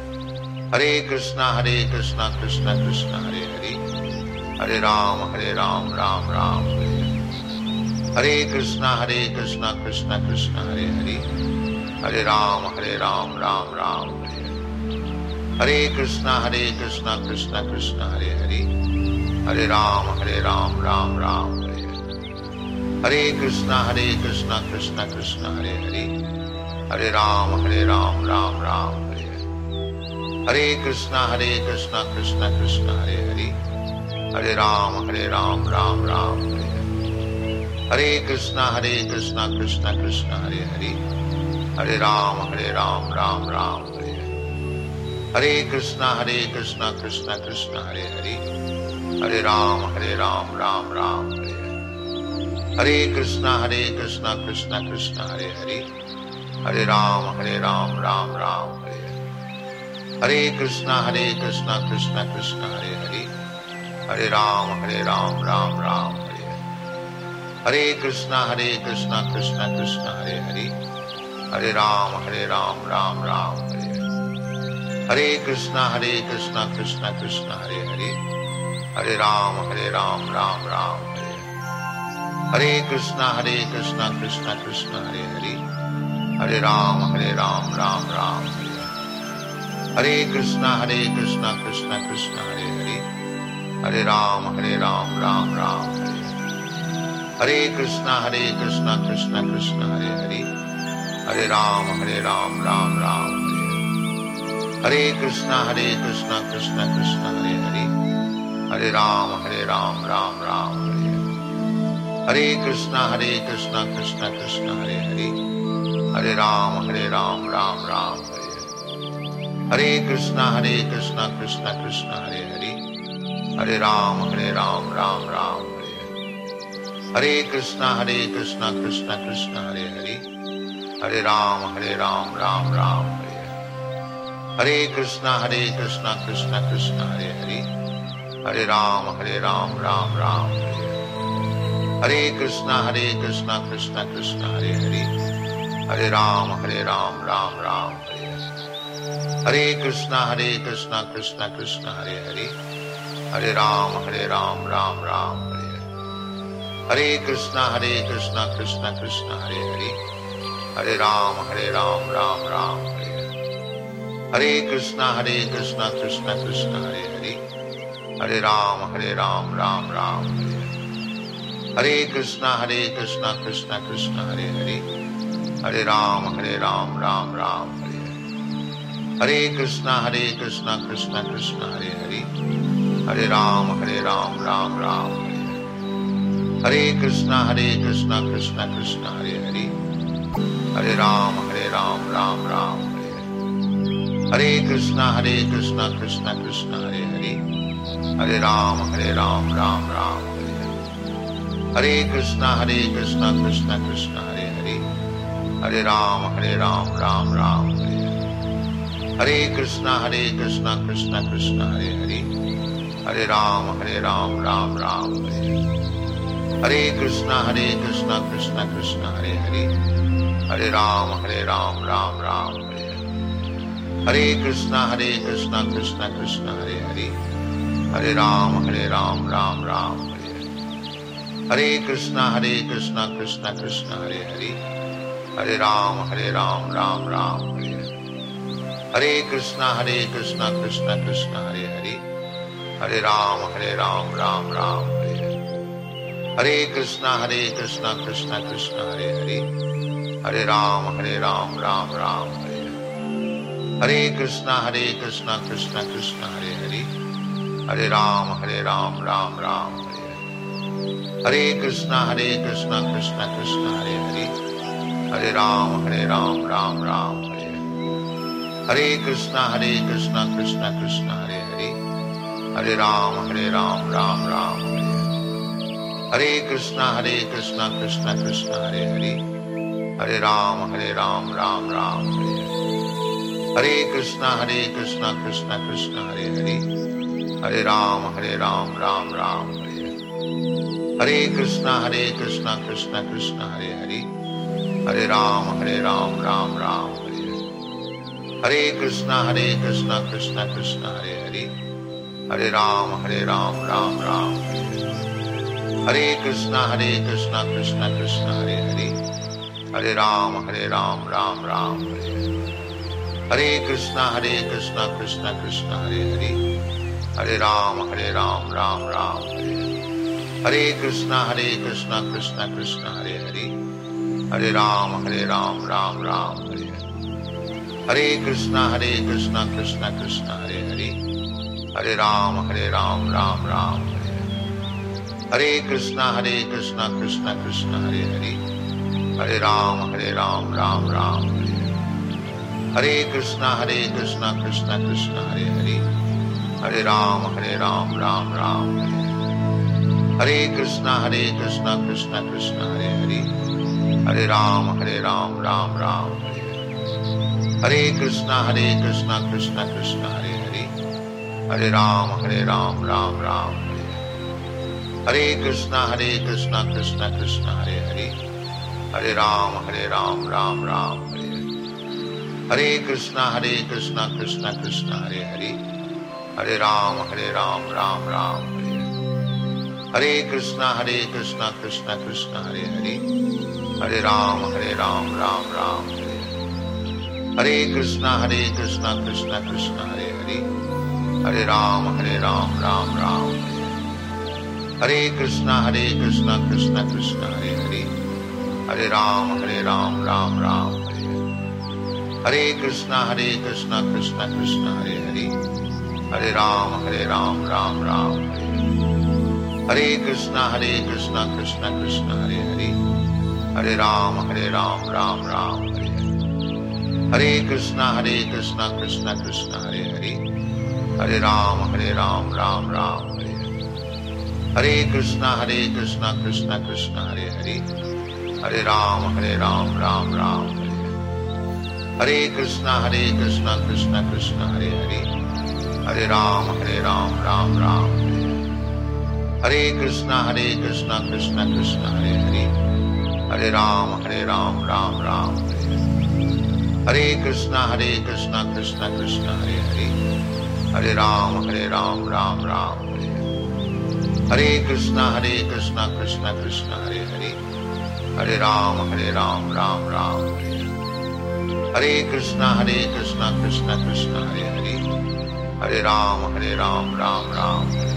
Hare कृष्णा Hare कृष्णा कृष्णा कृष्णा हरे हरे, Hare राम Hare राम राम राम हरे हरे, Hare कृष्णा Hare कृष्णा कृष्णा कृष्णा हरे हरे, Hare राम Hare राम राम राम हरे हरे, Hare कृष्णा Hare कृष्णा कृष्णा कृष्णा हरे हरे, Hare राम Hare राम राम राम हरे हरे, Hare कृष्णा Hare कृष्णा कृष्णा कृष्णा हरे हरे, Hare राम Hare राम राम राम हरे हरे, Hare कृष्णा Hare कृष्णा कृष्णा कृष्णा हरे हरे, Hare राम Hare राम राम राम हरे हरे, Hare कृष्णा Hare कृष्णा कृष्णा कृष्णा हरे हरे, Hare राम Hare राम राम राम हरे हरे, Hare कृष्णा Hare कृष्णा कृष्णा कृष्णा हरे हरे, Hare राम Hare राम राम राम हरे हरे, Hare कृष्णा Hare कृष्णा कृष्णा कृष्णा हरे हरे, Hare राम Hare राम राम राम हरे हरे, Hare कृष्णा Hare कृष्णा कृष्णा कृष्णा हरे हरे, Hare राम Hare राम राम राम हरे हरे, Hare कृष्णा Hare कृष्णा कृष्णा कृष्णा हरे हरे, Hare राम Hare राम राम राम हरे हरे, Hare कृष्णा Hare कृष्णा कृष्णा कृष्णा हरे हरे, Hare राम Hare राम राम राम हरे हरे, Hare कृष्णा Hare कृष्णा कृष्णा कृष्णा हरे हरे, Hare राम Hare राम राम राम हरे हरे, Hare कृष्णा Hare कृष्णा कृष्णा कृष्णा हरे हरे, Hare राम Hare राम राम राम हरे हरे, Hare कृष्णा Hare कृष्णा कृष्णा कृष्णा हरे हरे, Hare राम Hare राम राम राम हरे हरे, Hare कृष्णा Hare कृष्णा कृष्णा कृष्णा हरे हरे, Hare राम Hare राम राम राम हरे हरे, Hare कृष्णा Hare कृष्णा कृष्णा कृष्णा हरे हरे, Hare राम Hare राम राम राम हरे हरे, Hare कृष्णा Hare कृष्णा कृष्णा कृष्णा हरे हरे, Hare राम Hare राम राम राम हरे हरे, Hare कृष्णा Hare कृष्णा कृष्णा कृष्णा हरे हरे, Hare राम Hare राम राम राम हरे हरे, Hare कृष्णा Hare कृष्णा कृष्णा कृष्णा हरे हरे, Hare राम Hare राम राम राम हरे हरे, Hare कृष्णा Hare कृष्णा कृष्णा कृष्णा हरे हरे, Hare राम Hare राम राम राम हरे हरे, Hare कृष्णा Hare कृष्णा कृष्णा कृष्णा हरे हरे, Hare राम Hare राम राम राम हरे हरे, Hare कृष्णा Hare कृष्णा कृष्णा कृष्णा हरे हरे, Hare राम Hare राम राम राम हरे हरे, Hare कृष्णा Hare कृष्णा कृष्णा कृष्णा हरे हरे, Hare राम Hare राम राम राम हरे हरे, Hare कृष्णा Hare कृष्णा कृष्णा कृष्णा हरे हरे, Hare राम Hare राम राम राम हरे हरे, Hare कृष्णा Hare कृष्णा कृष्णा कृष्णा हरे हरे, Hare राम Hare राम राम राम हरे हरे, Hare कृष्णा Hare कृष्णा कृष्णा कृष्णा हरे हरे, Hare राम Hare राम राम राम हरे हरे, Hare कृष्णा Hare कृष्णा कृष्णा कृष्णा हरे हरे, Hare राम Hare राम राम राम हरे हरे, Hare कृष्णा Hare कृष्णा कृष्णा कृष्णा हरे हरे, Hare राम Hare राम राम राम हरे हरे, Hare कृष्णा Hare कृष्णा कृष्णा कृष्णा हरे हरे, Hare राम Hare राम राम राम हरे हरे, Hare कृष्णा Hare कृष्णा कृष्णा कृष्णा हरे हरे, Hare राम Hare राम राम राम हरे हरे, Hare कृष्णा Hare कृष्णा कृष्णा कृष्णा हरे हरे, Hare राम Hare राम राम राम हरे हरे, Hare कृष्णा Hare कृष्णा कृष्णा कृष्णा हरे हरे, Hare राम Hare राम राम राम हरे हरे, Hare कृष्णा Hare कृष्णा कृष्णा कृष्णा हरे हरे, Hare राम Hare राम राम राम हरे हरे, Hare कृष्णा Hare कृष्णा कृष्णा कृष्णा हरे हरे, Hare राम Hare राम राम राम हरे हरे, Hare कृष्णा Hare कृष्णा कृष्णा कृष्णा हरे हरे, Hare राम Hare राम राम राम हरे हरे, Hare कृष्णा Hare कृष्णा कृष्णा कृष्णा हरे हरे, Hare राम Hare राम राम राम हरे हरे, Hare कृष्णा Hare कृष्णा कृष्णा कृष्णा हरे हरे, Hare राम Hare राम राम राम हरे हरे, Hare कृष्णा Hare कृष्णा कृष्णा कृष्णा हरे हरे, Hare राम Hare राम राम राम हरे हरे, Hare कृष्णा Hare कृष्णा कृष्णा कृष्णा हरे हरे, Hare राम Hare राम राम राम हरे हरे, Hare कृष्णा Hare कृष्णा कृष्णा कृष्णा हरे हरे, Hare राम Hare राम राम राम हरे हरे, Hare कृष्णा Hare कृष्णा कृष्णा कृष्णा हरे हरे, Hare राम Hare राम राम राम हरे हरे, Hare कृष्णा Hare कृष्णा कृष्णा कृष्णा हरे हरे, Hare राम Hare राम राम राम हरे हरे, Hare कृष्णा Hare कृष्णा कृष्णा कृष्णा हरे हरे, Hare राम Hare राम राम राम हरे हरे, Hare कृष्णा Hare कृष्णा कृष्णा कृष्णा हरे हरे, Hare राम Hare राम राम राम हरे हरे, Hare कृष्णा Hare कृष्णा कृष्णा कृष्णा हरे हरे, Hare राम Hare राम राम राम हरे हरे, Hare कृष्णा Hare कृष्णा कृष्णा कृष्णा हरे हरे, Hare राम Hare राम राम राम हरे हरे, Hare कृष्णा Hare कृष्णा कृष्णा कृष्णा हरे हरे, Hare राम Hare राम राम राम हरे हरे, Hare कृष्णा Hare कृष्णा कृष्णा कृष्णा हरे हरे, Hare राम Hare राम राम राम हरे हरे, Hare कृष्णा Hare कृष्णा कृष्णा कृष्णा हरे हरे, Hare राम Hare राम राम राम हरे हरे, Hare कृष्णा Hare कृष्णा कृष्णा कृष्णा हरे हरे, Hare राम Hare राम राम राम हरे हरे, Hare कृष्णा Hare कृष्णा कृष्णा कृष्णा हरे हरे, Hare राम Hare राम राम राम हरे हरे, Hare कृष्णा Hare कृष्णा कृष्णा कृष्णा हरे हरे, Hare राम Hare राम राम राम हरे हरे, Hare कृष्णा Hare कृष्णा कृष्णा कृष्णा हरे हरे, Hare राम Hare राम राम राम हरे हरे, Hare कृष्णा Hare कृष्णा कृष्णा कृष्णा हरे हरे, Hare राम Hare राम राम राम हरे हरे, Hare कृष्णा Hare कृष्णा कृष्णा कृष्णा हरे हरे, Hare राम Hare राम राम राम हरे हरे, Hare कृष्णा Hare कृष्णा कृष्णा कृष्णा हरे हरे, Hare राम Hare राम राम राम हरे हरे, Hare कृष्णा Hare कृष्णा कृष्णा कृष्णा हरे हरे, Hare राम Hare राम राम राम हरे हरे, Hare कृष्णा Hare कृष्णा कृष्णा कृष्णा हरे हरे, Hare राम Hare राम राम राम हरे हरे, Hare कृष्णा Hare कृष्णा कृष्णा कृष्णा हरे हरे, Hare राम Hare राम राम राम हरे हरे, Hare कृष्णा Hare कृष्णा कृष्णा कृष्णा हरे हरे, Hare राम Hare राम राम राम हरे हरे, Hare कृष्णा Hare कृष्णा कृष्णा कृष्णा हरे हरे, Hare राम Hare राम राम राम हरे हरे, Hare कृष्णा Hare कृष्णा कृष्णा कृष्णा हरे हरे, Hare राम Hare राम राम राम हरे हरे, Hare कृष्णा Hare कृष्णा कृष्णा कृष्णा हरे हरे, Hare राम Hare राम राम राम हरे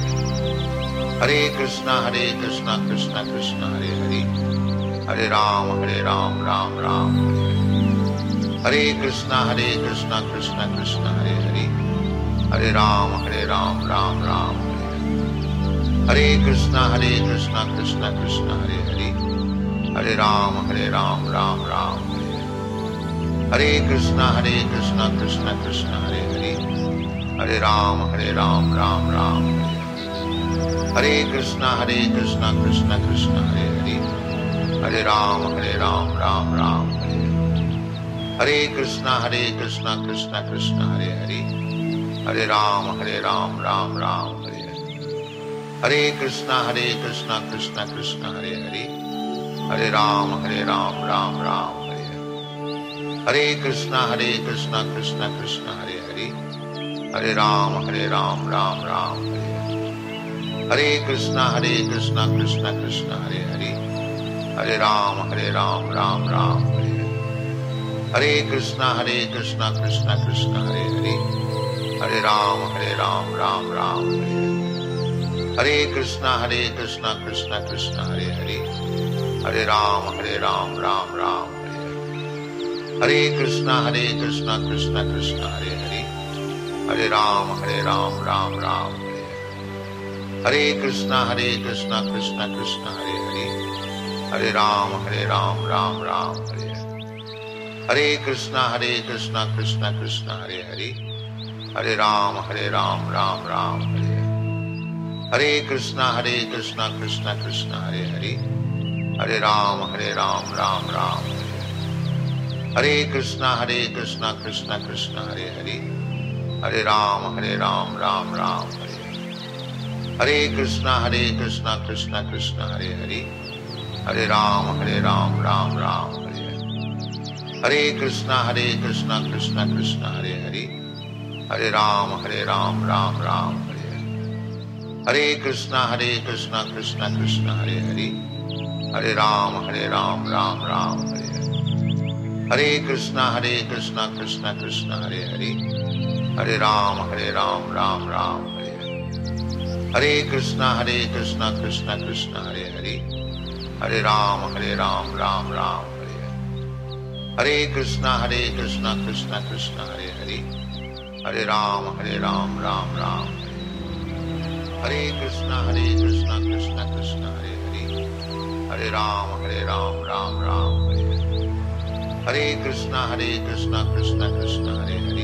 हरे, Hare कृष्णा Hare कृष्णा कृष्णा कृष्णा हरे हरे, Hare राम Hare राम राम राम हरे हरे, Hare कृष्णा Hare कृष्णा कृष्णा कृष्णा हरे हरे, Hare राम Hare राम राम राम हरे हरे, Hare कृष्णा Hare कृष्णा कृष्णा कृष्णा हरे हरे, Hare राम Hare राम राम राम हरे हरे, Hare कृष्णा Hare कृष्णा कृष्णा कृष्णा हरे हरे, Hare राम Hare राम राम राम हरे हरे, Hare कृष्णा Hare कृष्णा कृष्णा कृष्णा हरे हरे, Hare राम Hare राम राम राम हरे हरे, Hare कृष्णा Hare कृष्णा कृष्णा कृष्णा हरे हरे, Hare राम Hare राम राम राम हरे हरे, Hare कृष्णा Hare कृष्णा कृष्णा कृष्णा हरे हरे, Hare राम Hare राम राम राम हरे हरे, Hare कृष्णा Hare कृष्णा कृष्णा कृष्णा हरे हरे, Hare राम Hare राम राम राम हरे हरे, Hare कृष्णा Hare कृष्णा कृष्णा कृष्णा हरे हरे, Hare राम Hare राम राम राम हरे हरे, Hare कृष्णा Hare कृष्णा कृष्णा कृष्णा हरे हरे, Hare राम Hare राम राम राम हरे हरे, Hare कृष्णा Hare कृष्णा कृष्णा कृष्णा हरे हरे, Hare राम Hare राम राम राम हरे हरे, Hare कृष्णा Hare कृष्णा कृष्णा कृष्णा हरे हरे, Hare राम Hare राम राम राम हरे हरे, Hare कृष्णा Hare कृष्णा कृष्णा कृष्णा हरे हरे, Hare राम Hare राम राम राम हरे हरे, Hare कृष्णा Hare कृष्णा कृष्णा कृष्णा हरे हरे, Hare राम Hare राम राम राम हरे हरे, Hare कृष्णा Hare कृष्णा कृष्णा कृष्णा हरे हरे, Hare राम Hare राम राम राम हरे हरे, Hare कृष्णा Hare कृष्णा कृष्णा कृष्णा हरे हरे, Hare राम Hare राम राम राम हरे हरे, Hare कृष्णा Hare कृष्णा कृष्णा कृष्णा हरे हरे, Hare राम Hare राम राम राम हरे हरे, Hare कृष्णा Hare कृष्णा कृष्णा कृष्णा हरे हरे, Hare राम Hare राम राम राम हरे हरे, Hare कृष्णा Hare कृष्णा कृष्णा कृष्णा हरे हरे, Hare राम Hare राम राम राम हरे हरे, Hare कृष्णा Hare कृष्णा कृष्णा कृष्णा हरे हरे, Hare राम Hare राम राम राम हरे हरे, Hare कृष्णा Hare कृष्णा कृष्णा कृष्णा हरे हरे, Hare राम Hare राम राम राम हरे हरे, Hare कृष्णा Hare कृष्णा कृष्णा कृष्णा हरे हरे, Hare राम Hare राम राम राम हरे हरे, Hare कृष्णा Hare कृष्णा कृष्णा कृष्णा हरे हरे, Hare राम Hare राम राम राम हरे हरे, Hare कृष्णा Hare कृष्णा कृष्णा कृष्णा हरे हरे,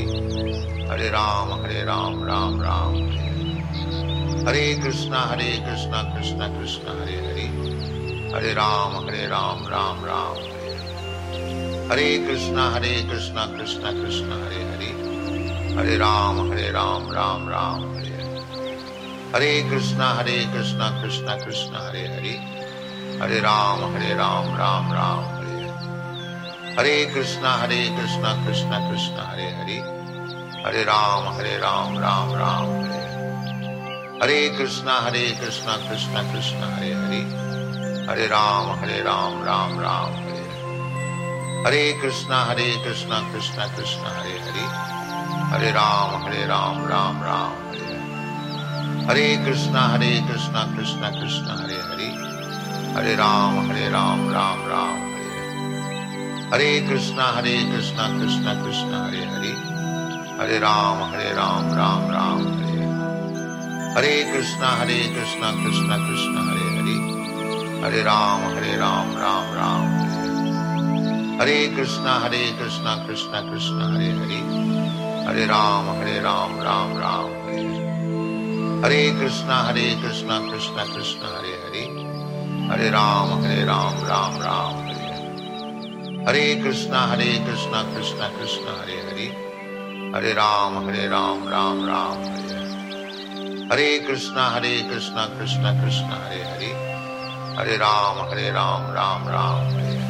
Hare राम Hare राम राम राम हरे हरे, Hare कृष्णा Hare कृष्णा कृष्णा कृष्णा हरे हरे, Hare राम Hare राम राम राम हरे हरे, Hare कृष्णा Hare कृष्णा कृष्णा कृष्णा हरे हरे, Hare राम Hare राम राम राम हरे हरे, Hare कृष्णा Hare कृष्णा कृष्णा कृष्णा हरे हरे, Hare राम Hare राम राम राम हरे हरे, Hare कृष्णा Hare कृष्णा कृष्णा कृष्णा हरे हरे, Hare राम Hare राम राम राम हरे हरे, Hare कृष्णा Hare कृष्णा कृष्णा कृष्णा हरे हरे, Hare राम Hare राम राम राम हरे हरे, Hare कृष्णा Hare कृष्णा कृष्णा कृष्णा हरे हरे, Hare राम Hare राम राम राम हरे हरे, Hare कृष्णा Hare कृष्णा कृष्णा कृष्णा हरे हरे, Hare राम Hare राम राम राम हरे हरे, Hare कृष्णा Hare कृष्णा कृष्णा कृष्णा हरे हरे, Hare राम Hare राम राम राम हरे हरे, Hare कृष्णा Hare कृष्णा कृष्णा कृष्णा हरे हरे, Hare राम Hare राम राम राम हरे हरे, Hare कृष्णा Hare कृष्णा कृष्णा कृष्णा हरे हरे, Hare राम Hare राम राम राम हरे हरे, Hare कृष्णा Hare कृष्णा कृष्णा कृष्णा हरे हरे, Hare राम Hare राम राम राम हरे हरे, Hare कृष्णा Hare कृष्णा कृष्णा कृष्णा हरे हरे, Hare राम Hare राम राम राम हरे हरे, Hare कृष्णा Hare कृष्णा कृष्णा कृष्णा हरे हरे, Hare राम Hare राम राम राम हरे हरे,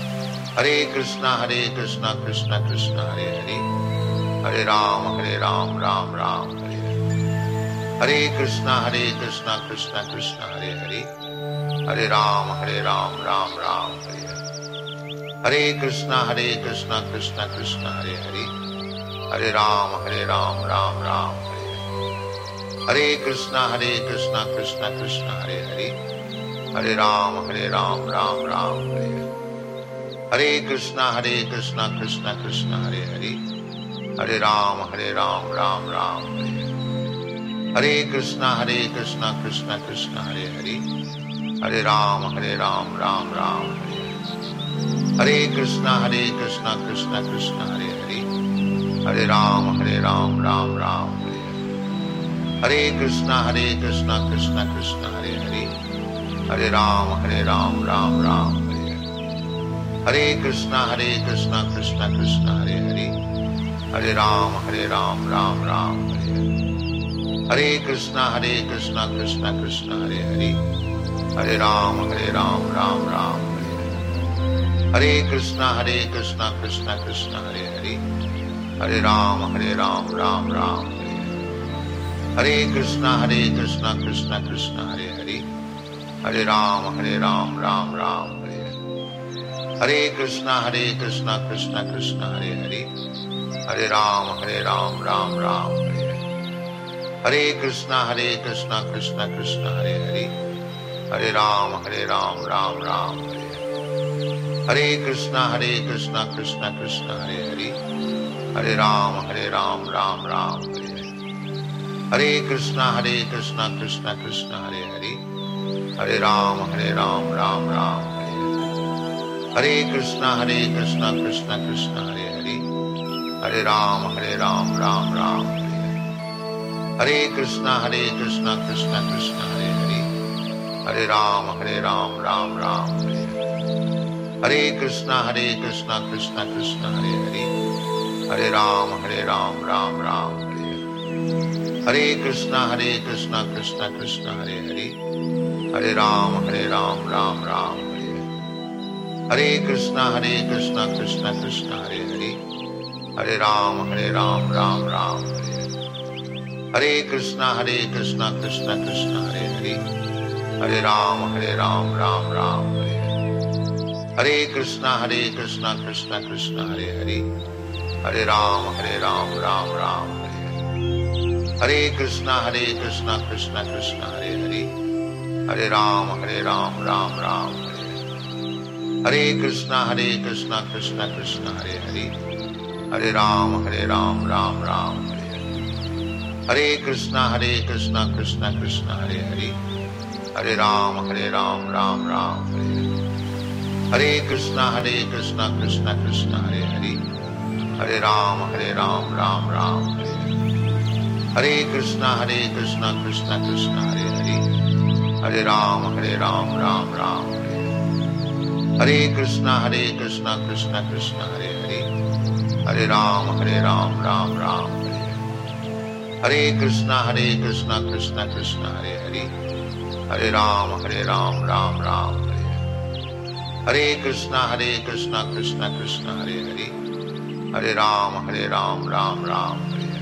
Hare कृष्णा Hare कृष्णा कृष्णा कृष्णा हरे हरे, Hare राम Hare राम राम राम हरे हरे, Hare कृष्णा Hare कृष्णा कृष्णा कृष्णा हरे हरे, Hare राम Hare राम राम राम हरे हरे, Hare कृष्णा Hare कृष्णा कृष्णा कृष्णा हरे हरे, Hare राम Hare राम राम राम हरे हरे, Hare कृष्णा Hare कृष्णा कृष्णा कृष्णा हरे हरे, Hare राम Hare राम राम राम हरे हरे, Hare कृष्णा Hare कृष्णा कृष्णा कृष्णा हरे हरे, Hare राम Hare राम राम राम हरे हरे, Hare कृष्णा Hare कृष्णा कृष्णा कृष्णा हरे हरे, Hare राम Hare राम राम राम हरे हरे, Hare कृष्णा Hare कृष्णा कृष्णा कृष्णा हरे हरे, Hare राम Hare राम राम राम हरे हरे, Hare कृष्णा Hare कृष्णा कृष्णा कृष्णा हरे हरे, Hare राम Hare राम राम राम हरे हरे, Hare कृष्णा Hare कृष्णा कृष्णा कृष्णा हरे हरे, Hare राम Hare राम राम राम हरे हरे, Hare कृष्णा Hare कृष्णा कृष्णा कृष्णा हरे हरे, Hare राम Hare राम राम राम हरे हरे, Hare कृष्णा Hare कृष्णा कृष्णा कृष्णा हरे हरे, Hare राम Hare राम राम राम हरे हरे, Hare कृष्णा Hare कृष्णा कृष्णा कृष्णा हरे हरे, Hare राम Hare राम राम राम हरे हरे, Hare कृष्णा Hare कृष्णा कृष्णा कृष्णा हरे हरे, Hare राम Hare राम राम राम हरे हरे, Hare कृष्णा Hare कृष्णा कृष्णा कृष्णा हरे हरे, Hare राम Hare राम राम राम हरे हरे, Hare कृष्णा Hare कृष्णा कृष्णा कृष्णा हरे हरे, Hare राम Hare राम राम राम हरे हरे, Hare कृष्णा Hare कृष्णा कृष्णा कृष्णा हरे हरे, Hare राम Hare राम राम राम हरे हरे, Hare कृष्णा Hare कृष्णा कृष्णा कृष्णा हरे हरे, Hare राम Hare राम राम राम हरे हरे, Hare कृष्णा Hare कृष्णा कृष्णा कृष्णा हरे हरे, Hare राम Hare राम राम राम हरे हरे, Hare कृष्णा Hare कृष्णा कृष्णा कृष्णा हरे हरे, Hare राम Hare राम राम राम हरे हरे, Hare कृष्णा Hare कृष्णा कृष्णा कृष्णा हरे हरे, Hare राम Hare राम राम राम हरे हरे, Hare कृष्णा Hare कृष्णा कृष्णा कृष्णा हरे हरे, Hare राम Hare राम राम राम हरे हरे, Hare कृष्णा Hare कृष्णा कृष्णा कृष्णा हरे हरे, Hare राम Hare राम राम राम हरे हरे, Hare कृष्णा Hare कृष्णा कृष्णा कृष्णा हरे हरे, Hare राम Hare राम राम राम हरे हरे, Hare कृष्णा Hare कृष्णा कृष्णा कृष्णा हरे हरे, Hare राम Hare राम राम राम हरे हरे, Hare कृष्णा Hare कृष्णा कृष्णा कृष्णा हरे हरे, Hare राम Hare राम राम राम हरे हरे, Hare कृष्णा Hare कृष्णा कृष्णा कृष्णा हरे हरे, Hare राम Hare राम राम राम हरे हरे, Hare कृष्णा Hare कृष्णा कृष्णा कृष्णा हरे हरे, Hare राम Hare राम राम राम हरे हरे, Hare कृष्णा Hare कृष्णा कृष्णा कृष्णा हरे हरे, Hare राम Hare राम राम राम हरे हरे, Hare कृष्णा Hare कृष्णा कृष्णा कृष्णा हरे हरे, Hare राम Hare राम राम राम हरे हरे, Hare कृष्णा Hare कृष्णा कृष्णा कृष्णा हरे हरे, Hare राम Hare राम राम राम हरे हरे, Hare कृष्णा Hare कृष्णा कृष्णा कृष्णा हरे हरे, Hare राम Hare राम राम राम हरे हरे,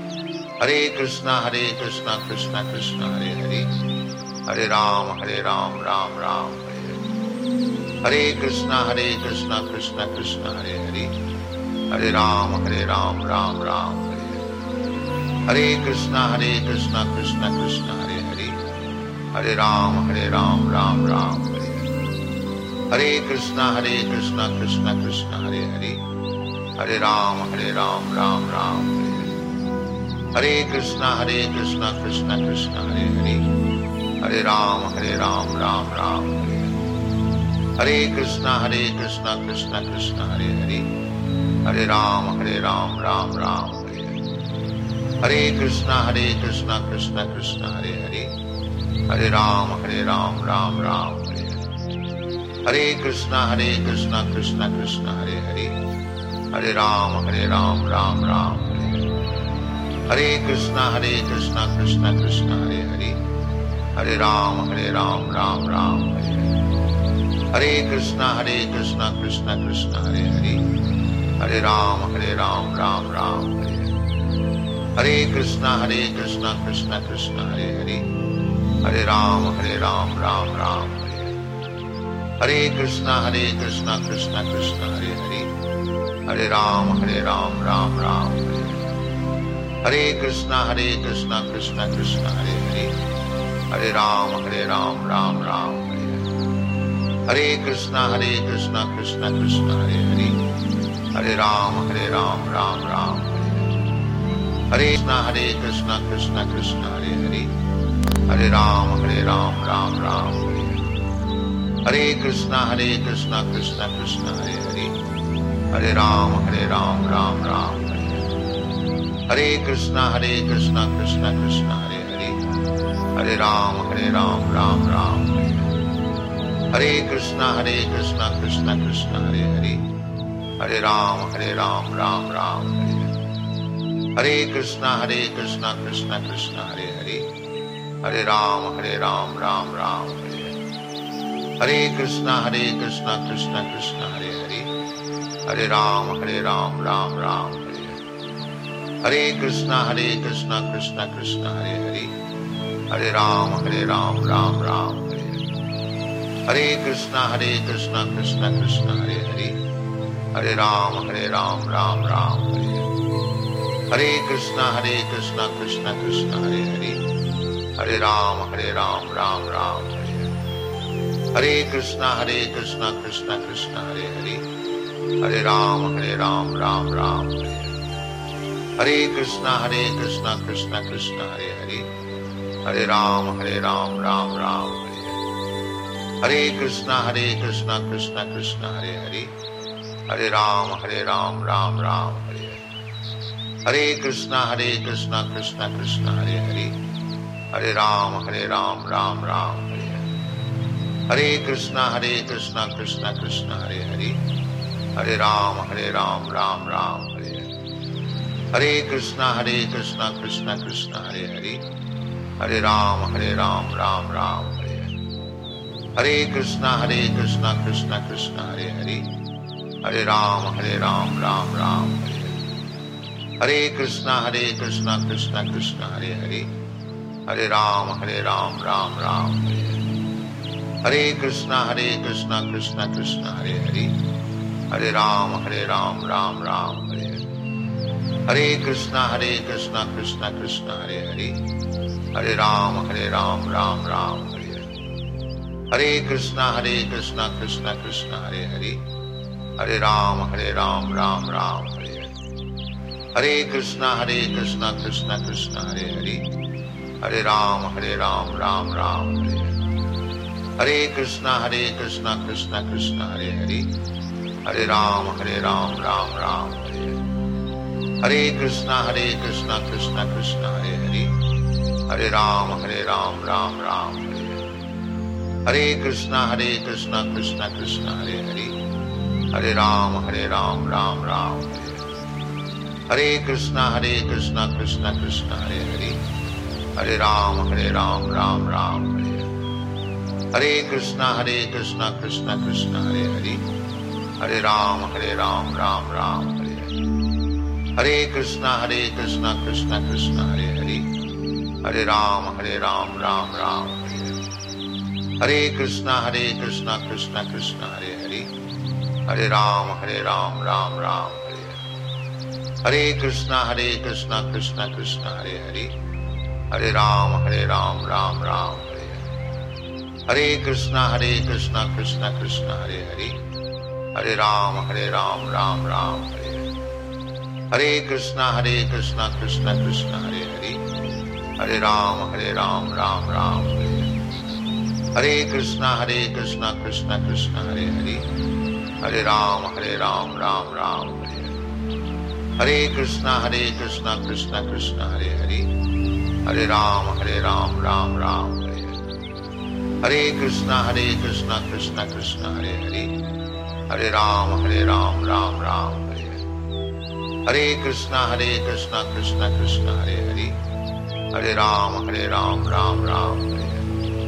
Hare कृष्णा Hare कृष्णा कृष्णा कृष्णा हरे हरे, Hare राम Hare राम राम राम हरे हरे, Hare कृष्णा Hare कृष्णा कृष्णा कृष्णा हरे हरे, Hare राम Hare राम राम राम हरे हरे, Hare कृष्णा Hare कृष्णा कृष्णा कृष्णा हरे हरे, Hare राम Hare राम राम राम हरे हरे, Hare कृष्णा Hare कृष्णा कृष्णा कृष्णा हरे हरे, Hare राम Hare राम राम राम हरे हरे, Hare कृष्णा Hare कृष्णा कृष्णा कृष्णा हरे हरे, Hare राम Hare राम राम राम हरे हरे, Hare कृष्णा Hare कृष्णा कृष्णा कृष्णा हरे हरे, Hare राम Hare राम राम राम हरे हरे, Hare कृष्णा Hare कृष्णा कृष्णा कृष्णा हरे हरे, Hare राम Hare राम राम राम हरे हरे, Hare कृष्णा Hare कृष्णा कृष्णा कृष्णा हरे हरे, Hare राम Hare राम राम राम हरे हरे, Hare कृष्णा Hare कृष्णा कृष्णा कृष्णा हरे हरे, Hare राम Hare राम राम राम हरे हरे, Hare कृष्णा Hare कृष्णा कृष्णा कृष्णा हरे हरे, Hare राम Hare राम राम राम हरे हरे, Hare कृष्णा Hare कृष्णा कृष्णा कृष्णा हरे हरे, Hare राम Hare राम राम राम हरे हरे, Hare कृष्णा Hare कृष्णा कृष्णा कृष्णा हरे हरे, Hare राम Hare राम राम राम हरे हरे, Hare कृष्णा Hare कृष्णा कृष्णा कृष्णा हरे हरे, Hare राम Hare राम राम राम हरे हरे, Hare कृष्णा Hare कृष्णा कृष्णा कृष्णा हरे हरे, Hare राम Hare राम राम राम हरे हरे, Hare कृष्णा Hare कृष्णा कृष्णा कृष्णा हरे हरे, Hare राम Hare राम राम राम हरे हरे, Hare कृष्णा Hare कृष्णा कृष्णा कृष्णा हरे हरे, Hare राम Hare राम राम राम हरे हरे, Hare कृष्णा Hare कृष्णा कृष्णा कृष्णा हरे हरे, Hare राम Hare राम राम राम हरे हरे, Hare कृष्णा Hare कृष्णा कृष्णा कृष्णा हरे हरे, Hare राम Hare राम राम राम हरे हरे, Hare कृष्णा Hare कृष्णा कृष्णा कृष्णा हरे हरे, Hare राम Hare राम राम राम हरे हरे, Hare कृष्णा Hare कृष्णा कृष्णा कृष्णा हरे हरे, Hare राम Hare राम राम राम हरे हरे, Hare कृष्णा Hare कृष्णा कृष्णा कृष्णा हरे हरे, Hare राम Hare राम राम राम हरे हरे, Hare कृष्णा Hare कृष्णा कृष्णा कृष्णा हरे हरे, Hare राम Hare राम राम राम हरे हरे, Hare कृष्णा Hare कृष्णा कृष्णा कृष्णा हरे हरे, Hare राम Hare राम राम राम हरे हरे, Hare कृष्णा Hare कृष्णा कृष्णा कृष्णा हरे हरे, Hare राम Hare राम राम राम हरे हरे, Hare कृष्णा Hare कृष्णा कृष्णा कृष्णा हरे हरे, Hare राम Hare राम राम राम हरे हरे, Hare कृष्णा Hare कृष्णा कृष्णा कृष्णा हरे हरे, Hare राम Hare राम राम राम हरे हरे, Hare कृष्णा Hare कृष्णा कृष्णा कृष्णा हरे हरे, Hare राम Hare राम राम राम हरे हरे, Hare कृष्णा Hare कृष्णा कृष्णा कृष्णा हरे हरे, Hare राम Hare राम राम राम हरे हरे, Hare कृष्णा Hare कृष्णा कृष्णा कृष्णा हरे हरे, Hare राम Hare राम राम राम हरे हरे, Hare कृष्णा Hare कृष्णा कृष्णा कृष्णा हरे हरे, Hare राम Hare राम राम राम हरे हरे, Hare कृष्णा Hare कृष्णा कृष्णा कृष्णा हरे हरे, Hare राम Hare राम राम राम हरे हरे, Hare कृष्णा Hare कृष्णा कृष्णा कृष्णा हरे हरे, Hare राम Hare राम राम राम हरे हरे, Hare कृष्णा Hare कृष्णा कृष्णा कृष्णा हरे हरे, Hare राम Hare राम राम राम हरे हरे, Hare कृष्णा Hare कृष्णा कृष्णा कृष्णा हरे हरे, Hare राम Hare राम राम राम हरे हरे, Hare कृष्णा Hare कृष्णा कृष्णा कृष्णा हरे हरे, Hare राम Hare राम राम राम हरे हरे, Hare कृष्णा Hare कृष्णा कृष्णा कृष्णा हरे हरे, Hare राम Hare राम राम राम हरे हरे, Hare कृष्णा Hare कृष्णा कृष्णा कृष्णा हरे हरे, Hare राम Hare राम राम राम हरे हरे, Hare कृष्णा Hare कृष्णा कृष्णा कृष्णा हरे हरे, Hare राम Hare राम राम राम हरे हरे, Hare कृष्णा Hare कृष्णा कृष्णा कृष्णा हरे हरे, Hare राम Hare राम राम राम हरे हरे, Hare कृष्णा Hare कृष्णा कृष्णा कृष्णा हरे हरे, Hare राम Hare राम राम राम हरे हरे, Hare कृष्णा Hare कृष्णा कृष्णा कृष्णा हरे हरे, Hare राम Hare राम राम राम हरे हरे, Hare कृष्णा Hare कृष्णा कृष्णा कृष्णा हरे हरे, Hare राम Hare राम राम राम हरे हरे, Hare कृष्णा Hare कृष्णा कृष्णा कृष्णा हरे हरे, Hare राम Hare राम राम राम हरे हरे, Hare कृष्णा Hare कृष्णा कृष्णा कृष्णा हरे हरे, Hare राम Hare राम राम राम हरे हरे, Hare कृष्णा Hare कृष्णा कृष्णा कृष्णा हरे हरे, Hare राम Hare राम राम राम हरे हरे, Hare कृष्णा Hare कृष्णा कृष्णा कृष्णा हरे हरे, Hare राम Hare राम राम राम हरे हरे, Hare कृष्णा Hare कृष्णा कृष्णा कृष्णा हरे हरे, Hare राम Hare राम राम राम हरे हरे, Hare कृष्णा Hare कृष्णा कृष्णा कृष्णा हरे हरे, Hare राम Hare राम राम राम हरे हरे, Hare कृष्णा Hare कृष्णा कृष्णा कृष्णा हरे हरे, Hare राम Hare राम राम राम हरे हरे,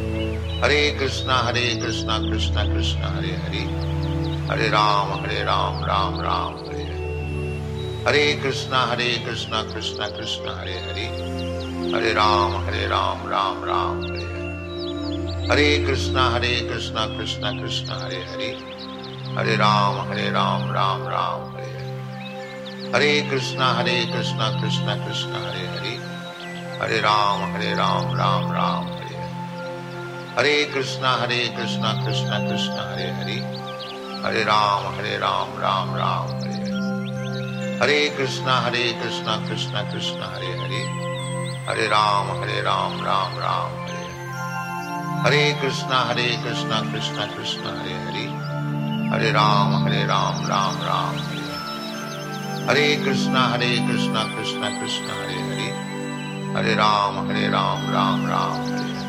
Hare कृष्णा Hare कृष्णा कृष्णा कृष्णा हरे हरे, Hare राम Hare राम राम राम हरे हरे, Hare कृष्णा Hare कृष्णा कृष्णा कृष्णा हरे हरे, Hare राम Hare राम राम राम हरे हरे, Hare कृष्णा Hare कृष्णा कृष्णा कृष्णा हरे हरे, Hare राम Hare राम राम राम हरे हरे, Hare कृष्णा Hare कृष्णा कृष्णा कृष्णा हरे हरे, Hare राम Hare राम राम राम हरे हरे, Hare कृष्णा Hare कृष्णा कृष्णा कृष्णा हरे हरे, Hare राम Hare राम राम राम हरे हरे, Hare कृष्णा Hare कृष्णा कृष्णा कृष्णा हरे हरे, Hare राम Hare राम राम राम हरे हरे, Hare कृष्णा Hare कृष्णा कृष्णा कृष्णा हरे हरे, Hare राम Hare राम राम राम हरे हरे, Hare कृष्णा Hare कृष्णा कृष्णा कृष्णा हरे हरे, Hare राम Hare राम राम राम हरे हरे,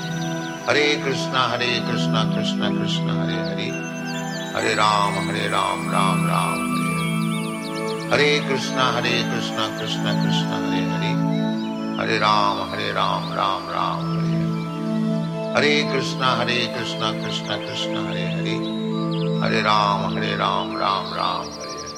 Hare कृष्णा Hare कृष्णा कृष्णा कृष्णा हरे हरे, Hare राम Hare राम राम राम हरे हरे, Hare कृष्णा Hare कृष्णा कृष्णा कृष्णा हरे हरे, Hare राम Hare राम राम राम हरे हरे, Hare कृष्णा Hare कृष्णा कृष्णा कृष्णा हरे हरे, Hare राम Hare राम राम राम हरे हरे,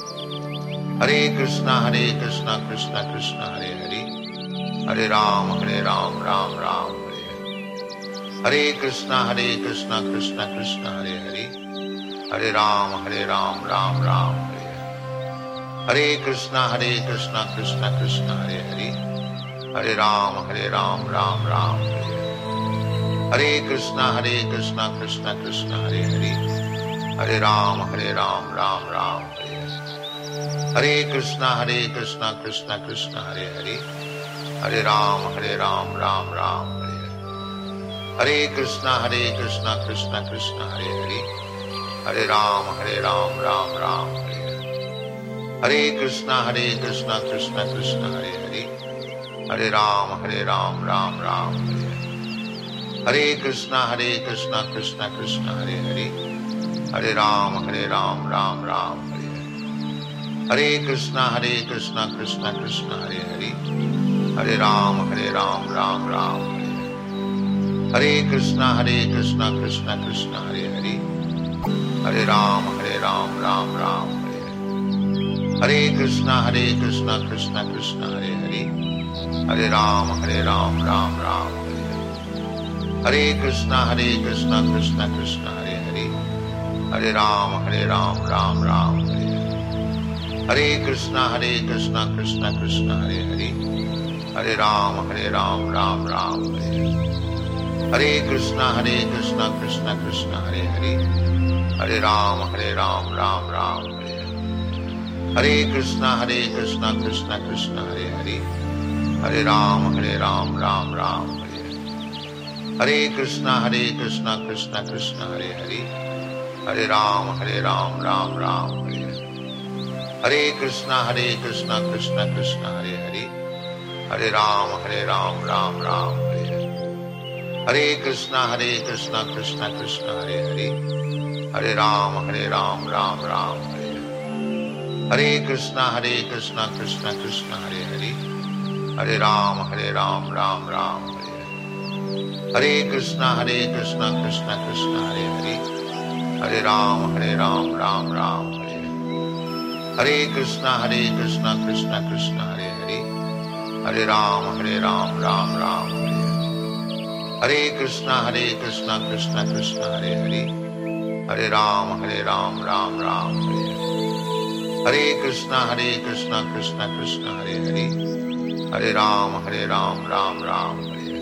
Hare कृष्णा Hare कृष्णा कृष्णा कृष्णा हरे हरे, Hare राम Hare राम राम राम हरे हरे, Hare कृष्णा Hare कृष्णा कृष्णा कृष्णा हरे हरे, Hare राम Hare राम राम राम हरे हरे, Hare कृष्णा Hare कृष्णा कृष्णा कृष्णा हरे हरे, Hare राम Hare राम राम राम हरे हरे, Hare कृष्णा Hare कृष्णा कृष्णा कृष्णा हरे हरे, Hare राम Hare राम राम राम हरे हरे, Hare कृष्णा Hare कृष्णा कृष्णा कृष्णा हरे हरे, Hare राम Hare राम राम राम हरे हरे, Hare कृष्णा Hare कृष्णा कृष्णा कृष्णा हरे हरे, Hare राम Hare राम राम राम हरे हरे, Hare कृष्णा Hare कृष्णा कृष्णा कृष्णा हरे हरे, Hare राम Hare राम राम राम हरे हरे, Hare कृष्णा Hare कृष्णा कृष्णा कृष्णा हरे हरे, Hare राम Hare राम राम राम हरे हरे, Hare कृष्णा Hare कृष्णा कृष्णा कृष्णा हरे हरे, Hare राम Hare राम राम राम हरे हरे, Hare कृष्णा Hare कृष्णा कृष्णा कृष्णा हरे हरे, Hare राम Hare राम राम राम हरे हरे, Hare कृष्णा Hare कृष्णा कृष्णा कृष्णा हरे हरे, Hare राम Hare राम राम राम हरे हरे, Hare कृष्णा Hare कृष्णा कृष्णा कृष्णा हरे हरे, Hare राम Hare राम राम राम हरे हरे, Hare कृष्णा Hare कृष्णा कृष्णा कृष्णा हरे हरे, Hare राम Hare राम राम राम हरे हरे, Hare कृष्णा Hare कृष्णा कृष्णा कृष्णा हरे हरे, Hare राम Hare राम राम राम हरे हरे, Hare कृष्णा Hare कृष्णा कृष्णा कृष्णा हरे हरे, Hare राम Hare राम राम राम हरे हरे, Hare कृष्णा Hare कृष्णा कृष्णा कृष्णा हरे हरे, Hare राम Hare राम राम राम हरे हरे, Hare कृष्णा Hare कृष्णा कृष्णा कृष्णा हरे हरे, Hare राम Hare राम राम राम हरे हरे, Hare कृष्णा Hare कृष्णा कृष्णा कृष्णा हरे हरे, Hare राम Hare राम राम राम हरे हरे, Hare कृष्णा Hare कृष्णा कृष्णा कृष्णा हरे हरे, Hare राम Hare राम राम राम हरे हरे, Hare कृष्णा Hare कृष्णा कृष्णा कृष्णा हरे हरे, Hare राम Hare राम राम राम हरे हरे, Hare कृष्णा Hare कृष्णा कृष्णा कृष्णा हरे हरे, Hare राम Hare राम राम राम हरे हरे, Hare कृष्णा Hare कृष्णा कृष्णा कृष्णा हरे हरे, Hare राम Hare राम राम राम हरे हरे, Hare कृष्णा Hare कृष्णा कृष्णा कृष्णा हरे हरे, Hare राम Hare राम राम राम हरे हरे,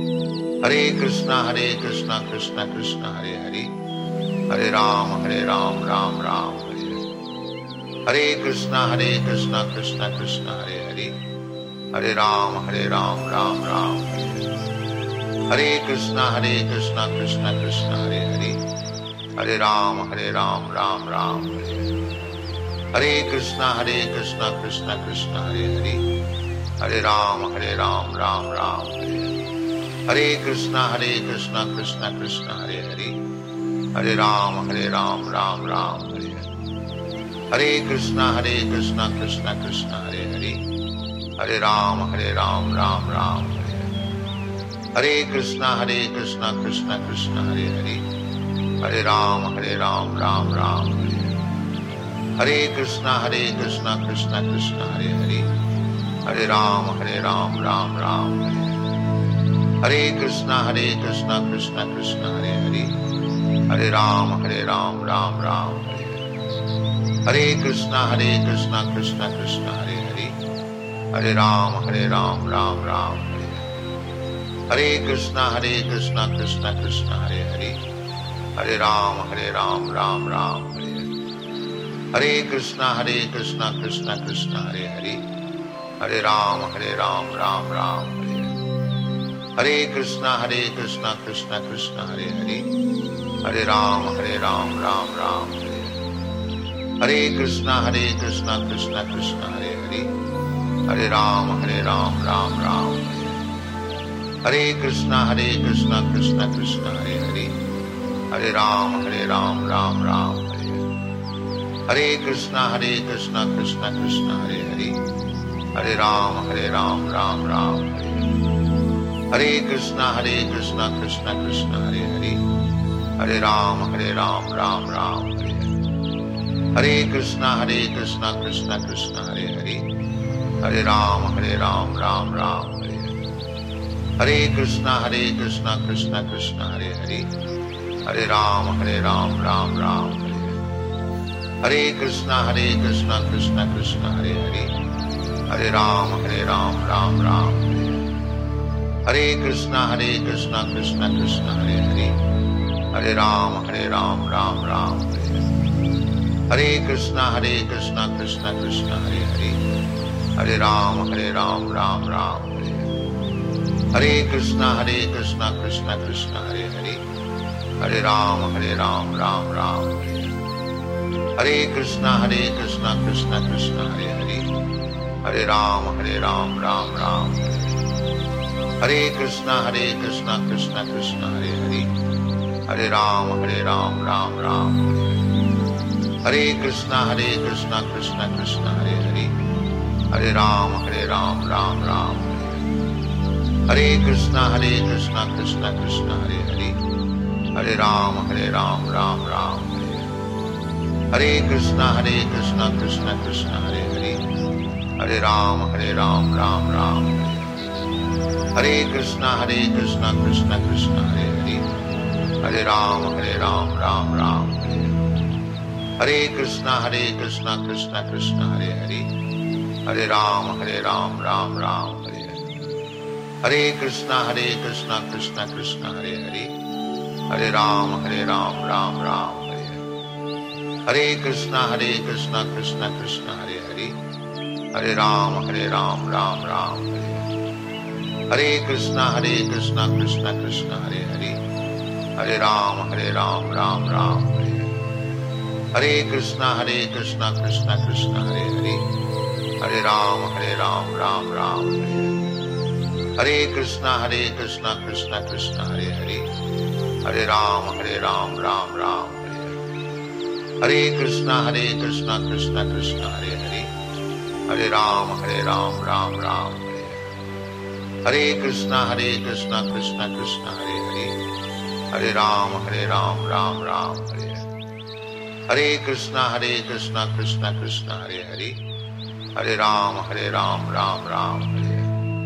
Hare कृष्णा Hare कृष्णा कृष्णा कृष्णा हरे हरे, Hare राम Hare राम राम राम हरे हरे, Hare कृष्णा Hare कृष्णा कृष्णा कृष्णा हरे हरे, Hare राम Hare राम राम राम हरे हरे, Hare कृष्णा Hare कृष्णा कृष्णा कृष्णा हरे हरे, Hare राम Hare राम राम राम हरे हरे, Hare कृष्णा Hare कृष्णा कृष्णा कृष्णा हरे हरे, Hare राम Hare राम राम राम हरे हरे, Hare कृष्णा Hare कृष्णा कृष्णा कृष्णा हरे हरे, Hare राम Hare राम राम राम हरे हरे, Hare कृष्णा Hare कृष्णा कृष्णा कृष्णा हरे हरे, Hare राम Hare राम राम राम हरे हरे, Hare कृष्णा Hare कृष्णा कृष्णा कृष्णा हरे हरे, Hare राम Hare राम राम राम हरे हरे, Hare कृष्णा Hare कृष्णा कृष्णा कृष्णा हरे हरे, Hare राम Hare राम राम राम हरे हरे, Hare कृष्णा Hare कृष्णा कृष्णा कृष्णा हरे हरे, Hare राम Hare राम राम राम हरे हरे, Hare कृष्णा Hare कृष्णा कृष्णा कृष्णा हरे हरे, Hare राम Hare राम राम राम हरे हरे, Hare कृष्णा Hare कृष्णा कृष्णा कृष्णा हरे हरे, Hare राम Hare राम राम राम हरे हरे, Hare कृष्णा Hare कृष्णा कृष्णा कृष्णा हरे हरे, Hare राम Hare राम राम राम हरे हरे, Hare कृष्णा Hare कृष्णा कृष्णा कृष्णा हरे हरे, Hare राम Hare राम राम राम हरे हरे, Hare कृष्णा Hare कृष्णा कृष्णा कृष्णा हरे हरे, Hare राम Hare राम राम राम हरे हरे, Hare कृष्णा Hare कृष्णा कृष्णा कृष्णा हरे हरे, Hare राम Hare राम राम राम हरे हरे, Hare कृष्णा Hare कृष्णा कृष्णा कृष्णा हरे हरे, Hare राम Hare राम राम राम हरे हरे, Hare कृष्णा Hare कृष्णा कृष्णा कृष्णा हरे हरे, Hare राम Hare राम राम राम हरे हरे, Hare कृष्णा Hare कृष्णा कृष्णा कृष्णा हरे हरे, Hare राम Hare राम राम राम हरे हरे, Hare कृष्णा Hare कृष्णा कृष्णा कृष्णा हरे हरे, Hare राम Hare राम राम राम हरे हरे, Hare कृष्णा Hare कृष्णा कृष्णा कृष्णा हरे हरे, Hare राम Hare राम राम राम हरे हरे, Hare कृष्णा Hare कृष्णा कृष्णा कृष्णा हरे हरे, Hare राम Hare राम राम राम हरे हरे, Hare कृष्णा Hare कृष्णा कृष्णा कृष्णा हरे हरे, Hare राम Hare राम राम राम हरे हरे, Hare कृष्णा Hare कृष्णा कृष्णा कृष्णा हरे हरे, Hare राम Hare राम राम राम हरे हरे, Hare कृष्णा Hare कृष्णा कृष्णा कृष्णा हरे हरे, Hare राम Hare राम राम राम हरे हरे, Hare कृष्णा Hare कृष्णा कृष्णा कृष्णा हरे हरे, Hare राम Hare राम राम राम हरे हरे, Hare कृष्णा Hare कृष्णा कृष्णा कृष्णा हरे हरे, Hare राम Hare राम राम राम हरे हरे, Hare कृष्णा Hare कृष्णा कृष्णा कृष्णा हरे हरे, Hare राम Hare राम राम राम हरे हरे, Hare कृष्णा Hare कृष्णा कृष्णा कृष्णा हरे हरे, Hare राम Hare राम राम राम हरे हरे, Hare कृष्णा Hare कृष्णा कृष्णा कृष्णा हरे हरे, Hare राम Hare राम राम राम हरे हरे, Hare कृष्णा Hare कृष्णा कृष्णा कृष्णा हरे हरे, Hare राम Hare राम राम राम हरे हरे, Hare कृष्णा Hare कृष्णा कृष्णा कृष्णा हरे हरे, Hare राम Hare राम राम राम हरे हरे, Hare कृष्णा Hare कृष्णा कृष्णा कृष्णा हरे हरे, Hare राम Hare राम राम राम हरे हरे, Hare कृष्णा Hare कृष्णा कृष्णा कृष्णा हरे हरे, Hare राम Hare राम राम राम हरे हरे, Hare कृष्णा Hare कृष्णा कृष्णा कृष्णा हरे हरे, Hare राम Hare राम राम राम हरे हरे, Hare कृष्णा Hare कृष्णा कृष्णा कृष्णा हरे हरे, Hare राम Hare राम राम राम हरे हरे, Hare कृष्णा Hare कृष्णा कृष्णा कृष्णा हरे हरे, Hare राम Hare राम राम राम हरे हरे, Hare कृष्णा Hare कृष्णा कृष्णा कृष्णा हरे हरे, Hare राम Hare राम राम राम हरे हरे, Hare कृष्णा Hare कृष्णा कृष्णा कृष्णा हरे हरे, Hare राम Hare राम राम राम हरे हरे,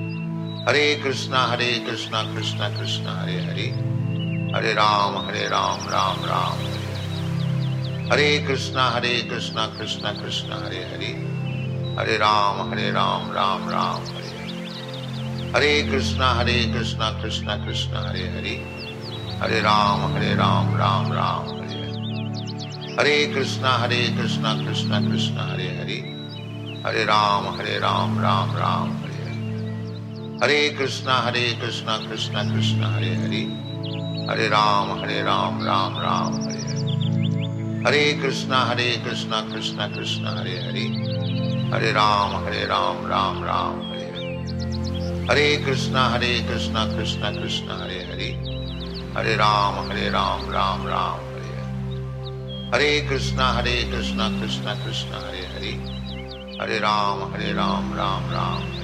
Hare कृष्णा Hare कृष्णा कृष्णा कृष्णा हरे हरे, Hare राम Hare राम राम राम हरे हरे, Hare कृष्णा Hare कृष्णा कृष्णा कृष्णा हरे हरे, Hare राम Hare राम राम राम हरे हरे, Hare कृष्णा Hare कृष्णा कृष्णा कृष्णा हरे हरे, Hare राम Hare राम राम राम हरे हरे, Hare कृष्णा Hare कृष्णा कृष्णा कृष्णा हरे हरे, Hare राम Hare राम राम राम हरे Hare, Hare Krishna, Hare Krishna, Krishna Krishna, Hare Hare, Hare Ram, Hare Ram, Ram Ram, Hare Hare. Hare Krishna, Hare Krishna, Krishna Krishna, Hare Hare, Hare Ram, Hare Ram, Ram Ram, Hare Hare. Hare Krishna, Hare Krishna, Krishna Krishna, Hare Hare, Hare Ram, Hare Ram, Ram Ram, Hare Hare. Hare Krishna, Hare Krishna, Krishna Krishna, Hare Hare, Hare Ram, Hare Ram, Ram Ram, Hare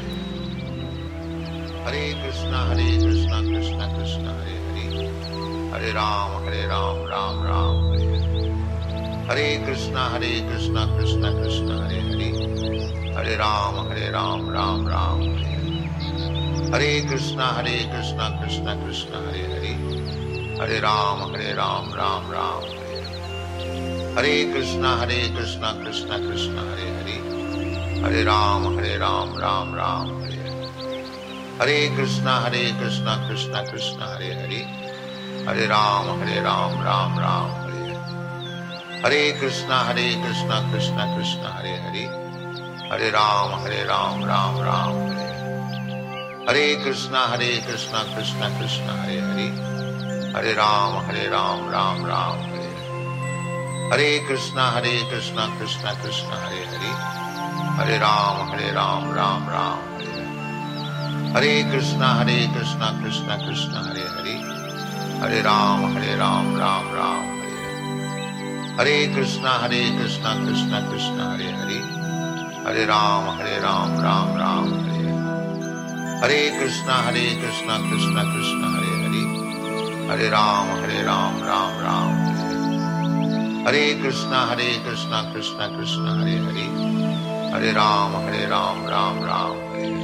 Hare. Hare Krishna, Hare Krishna, Krishna Krishna, Hare Hare, Hare Ram, Hare Ram, Ram Ram, Hare Hare. Hare Krishna, Hare Krishna, Krishna Krishna, Hare Hare, Hare Ram, Hare Ram, Ram Ram, Hare Hare. Hare Krishna, Hare Krishna, Krishna Krishna, Hare Hare, Hare Ram, Hare Ram, Ram Ram, Hare Hare. Hare Krishna, Hare Krishna, Krishna Krishna, Hare Hare, Hare Ram, Hare Ram, Ram Ram, Hare Hare. Hare Krishna, Hare Krishna, Krishna Krishna, Hare Hare, Hare Ram, Hare Ram, Ram Ram, Hare Hare. Hare Krishna, Hare Krishna, Krishna Krishna, Hare Hare, Hare Ram, Hare Ram, Ram Ram, Hare Hare. Hare Krishna, Hare Krishna, Krishna Krishna, Hare Hare, Hare Ram, Hare Ram, Ram Ram, Hare Hare. Hare Krishna, Hare Krishna, Krishna Krishna, Hare Hare, Hare Ram, Hare Ram, Ram Ram, Hare Hare. Hare Krishna, Hare Krishna, Krishna Krishna, Hare Hare, Hare Ram, Hare Ram, Ram Ram, Hare Hare. Hare Krishna, Hare Krishna, Krishna Krishna, Hare Hare, Hare Ram, Hare Ram, Ram Ram, Hare Hare. Hare Krishna, Hare Krishna, Krishna Krishna, Hare Hare, Hare Ram, Hare Ram, Ram Ram, Hare Hare. Hare Krishna, Hare Krishna, Krishna Krishna, Hare Hare, Hare Ram, Hare Ram, Ram Ram, Hare Hare.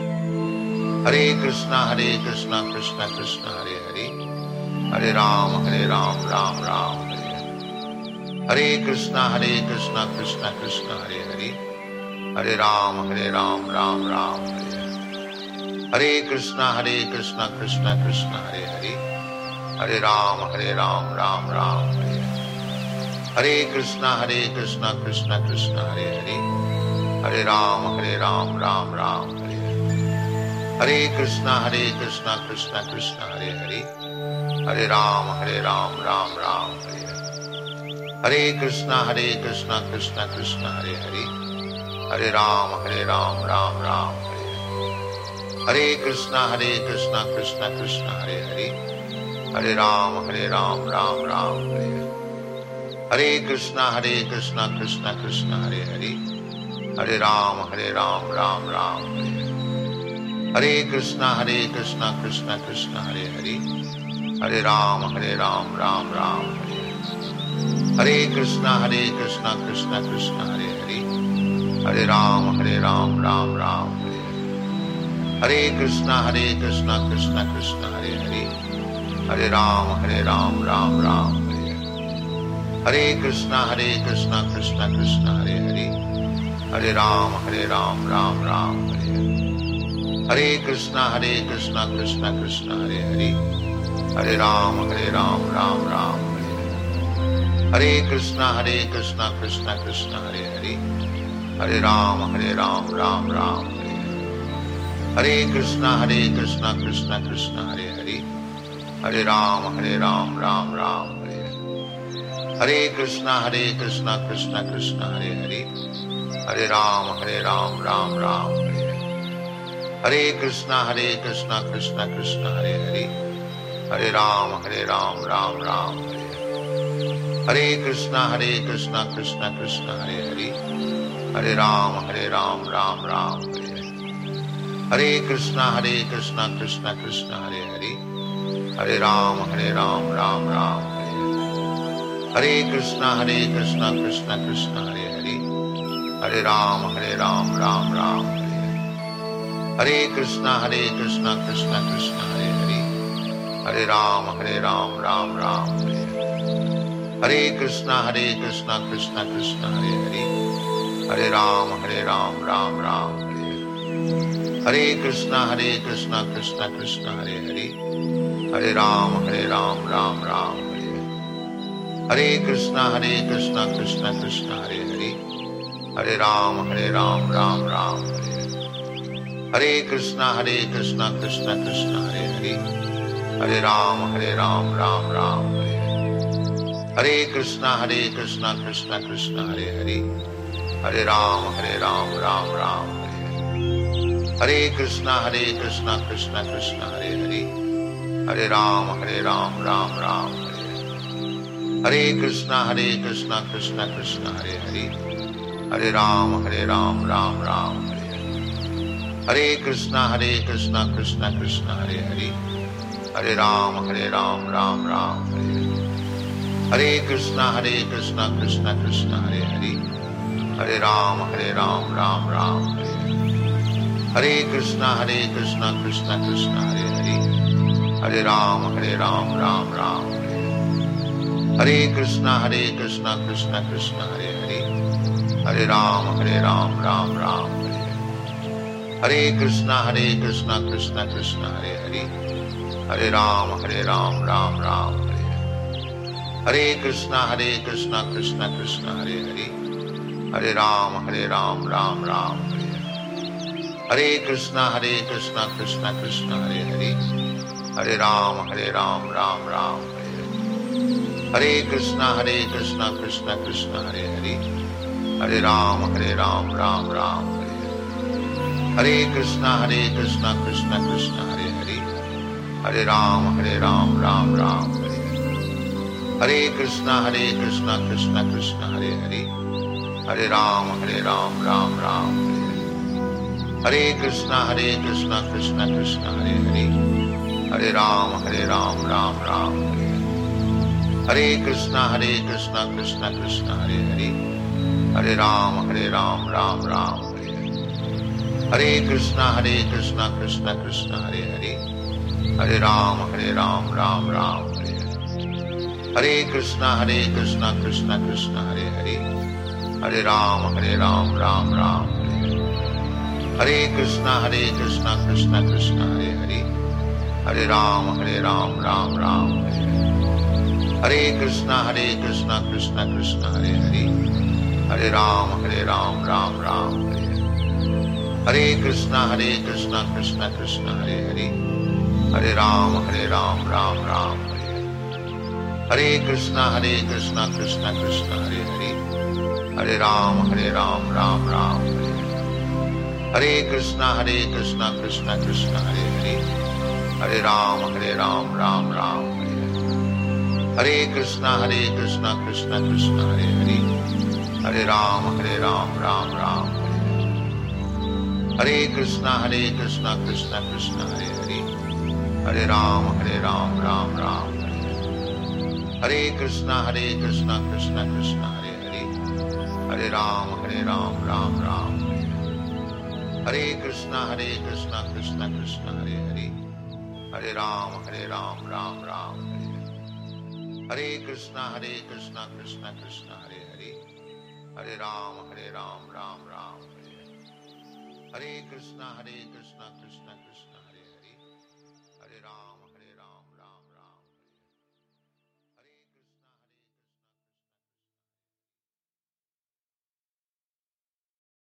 Hare Krishna, Hare Krishna, Krishna Krishna, Hare Hare, Hare Ram, Hare Ram, Ram Ram, Hare Hare. Hare Krishna, Hare Krishna, Krishna Krishna, Hare Hare, Hare Ram, Hare Ram, Ram Ram, Hare Hare. Hare Krishna, Hare Krishna, Krishna Krishna, Hare Hare, Hare Ram, Hare Ram, Ram Ram, Hare Hare. Hare Krishna, Hare Krishna, Krishna Krishna, Hare Hare, Hare Ram, Hare Ram, Ram Ram, Hare Hare. Hare Krishna, Hare Krishna, Krishna Krishna, Hare Hare, Hare Ram, Hare Ram, Ram Ram, Hare Hare. Hare Krishna, Hare Krishna, Krishna Krishna, Hare Hare, Hare Ram, Hare Ram, Ram Ram, Hare Hare. Hare Krishna, Hare Krishna, Krishna Krishna, Hare Hare, Hare Ram, Hare Ram, Ram Ram, Hare Hare. Hare Krishna, Hare Krishna, Krishna Krishna, Hare Hare, Hare Ram, Hare Ram, Ram Ram, Hare Hare. Hare Krishna, Hare Krishna, Krishna Krishna, Hare Hare, Hare Ram, Hare Ram, Ram Ram, Hare Hare. Hare Krishna, Hare Krishna, Krishna Krishna, Hare Hare, Hare Ram, Hare Ram, Ram Ram, Hare Hare. Hare Krishna, Hare Krishna, Krishna Krishna, Hare Hare, Hare Ram, Hare Ram, Ram Ram, Hare Hare. Hare Krishna, Hare Krishna, Krishna Krishna, Hare Hare, Hare Ram, Hare Ram, Ram Ram, Hare Hare. Hare Krishna, Hare Krishna, Krishna Krishna, Hare Hare, Hare Ram, Hare Ram, Ram Ram, Hare Hare. Hare Krishna, Hare Krishna, Krishna Krishna, Hare Hare, Hare Ram, Hare Ram, Ram Ram, Hare Hare. Hare Krishna, Hare Krishna, Krishna Krishna, Hare Hare, Hare Ram, Hare Ram, Ram Ram, Hare Hare. Hare Krishna, Hare Krishna, Krishna Krishna, Hare Hare, Hare Ram, Hare Ram, Ram Ram, Hare Hare. Hare Krishna, Hare Krishna, Krishna Krishna, Hare Hare, Hare Ram, Hare Ram, Ram Ram, Hare Hare. Hare Krishna, Hare Krishna, Krishna Krishna, Hare Hare, Hare Ram, Hare Ram, Ram Ram, Hare Hare. Hare Krishna, Hare Krishna, Krishna Krishna, Hare Hare, Hare Ram, Hare Ram, Ram Ram, Hare Hare. Hare Krishna, Hare Krishna, Krishna Krishna, Hare Hare, Hare Ram, Hare Ram, Ram Ram, Hare Hare. Hare Krishna, Hare Krishna, Krishna Krishna, Hare Hare, Hare Ram, Hare Ram, Ram Ram, Hare Hare. Hare Krishna, Hare Krishna, Krishna Krishna, Hare Hare, Hare Ram, Hare Ram, Ram Ram, Hare Hare. Hare Krishna, Hare Krishna, Krishna Krishna, Hare Hare, Hare Ram, Hare Ram, Ram Ram, Hare Hare. Hare Krishna, Hare Krishna, Krishna Krishna, Hare Hare, Hare Ram, Hare Ram, Ram Ram, Hare Hare. Hare Krishna, Hare Krishna, Krishna Krishna, Hare Hare, Hare Ram, Hare Ram, Ram Ram, Hare Hare. Hare Krishna, Hare Krishna, Krishna Krishna, Hare Hare, Hare Ram, Hare Ram, Ram Ram, Hare Hare. Hare Krishna, Hare Krishna, Krishna Krishna, Hare Hare, Hare Ram, Hare Ram, Ram Ram, Hare Hare. Hare Krishna, Hare Krishna, Krishna Krishna, Hare Hare, Hare Ram, Hare Ram, Ram Ram, Hare Hare. Hare Krishna, Hare Krishna, Krishna Krishna, Hare Hare, Hare Ram, Hare Ram, Ram Ram, Hare Hare. Hare Krishna, Hare Krishna, Krishna Krishna, Hare Hare, Hare Ram, Hare Ram, Ram Ram, Hare Hare. Hare Krishna, Hare Krishna, Krishna Krishna, Hare Hare, Hare Ram, Hare Ram, Ram Ram, Hare Hare. Hare Krishna, Hare Krishna, Krishna Krishna, Hare Hare, Hare Ram, Hare Ram, Ram Ram, Hare Hare. Hare Krishna, Hare Krishna, Krishna Krishna, Hare Hare, Hare Ram, Hare Ram, Ram Ram, Hare Hare. Hare Krishna, Hare Krishna, Krishna Krishna, Hare Hare, Hare Ram, Hare Ram, Ram Ram, Hare Hare. Hare Krishna, Hare Krishna, Krishna Krishna, Hare Hare, Hare Ram, Hare Ram, Ram Ram, Hare Hare. Hare Krishna, Hare Krishna, Krishna Krishna, Hare Hare, Hare Ram, Hare Ram, Ram Ram, Hare Hare. Hare Krishna, Hare Krishna, Krishna Krishna, Hare Hare, Hare Ram, Hare Ram, Ram Ram, Hare Hare. Hare Krishna, Hare Krishna, Krishna Krishna, Hare Hare, Hare Ram, Hare Ram, Ram Ram, Hare Hare. Hare Krishna, Hare Krishna, Krishna Krishna, Hare Hare, Hare Ram, Hare Ram, Ram Ram, Hare Hare. Hare Krishna, Hare Krishna, Krishna Krishna, Hare Hare, Hare Ram, Hare Ram, Ram Ram, Hare Hare. Hare Krishna, Hare Krishna, Krishna Krishna, Hare Hare, Hare Ram, Hare Ram, Ram Ram, Hare Hare. Hare Krishna, Hare Krishna, Krishna Krishna, Hare Hare, Hare Ram, Hare Ram, Ram Ram, Hare Hare. Hare Krishna, Hare Krishna, Krishna Krishna, Hare Hare, Hare Ram, Hare Ram, Ram Ram, Hare Hare. Hare Krishna, Hare Krishna, Krishna Krishna, Hare Hare, Hare Ram, Hare Ram, Ram Ram, Hare Hare. Hare Krishna, Hare Krishna, Krishna Krishna, Hare Hare, Hare Ram, Hare Ram, Ram Ram, Hare Hare. Hare Krishna, Hare Krishna, Krishna Krishna, Hare Hare, Hare Ram, Hare Ram, Ram Ram, Hare Hare. Hare Krishna, Hare Krishna, Krishna Krishna, Hare Hare, Hare Ram, Hare Ram, Ram Ram, Hare Hare. Hare Krishna, Hare Krishna, Krishna Krishna, Hare Hare, Hare Ram, Hare Ram, Ram Ram, Hare Hare. Hare Krishna, Hare Krishna, Krishna Krishna, Hare Hare, Hare Ram, Hare Ram, Ram Ram, Hare Hare. Hare Krishna, Hare Krishna, Krishna Krishna, Hare Hare, Hare Ram, Hare Ram, Ram Ram, Hare Hare. Hare Krishna, Hare Krishna, Krishna Krishna, Hare Hare, Hare Ram, Hare Ram, Ram Ram, Hare Hare. Hare Krishna, Hare Krishna, Krishna Krishna, Hare Hare, Hare Ram, Hare Ram, Ram Ram, Hare Hare. Hare Krishna, Hare Krishna, Krishna Krishna, Hare Hare, Hare Ram.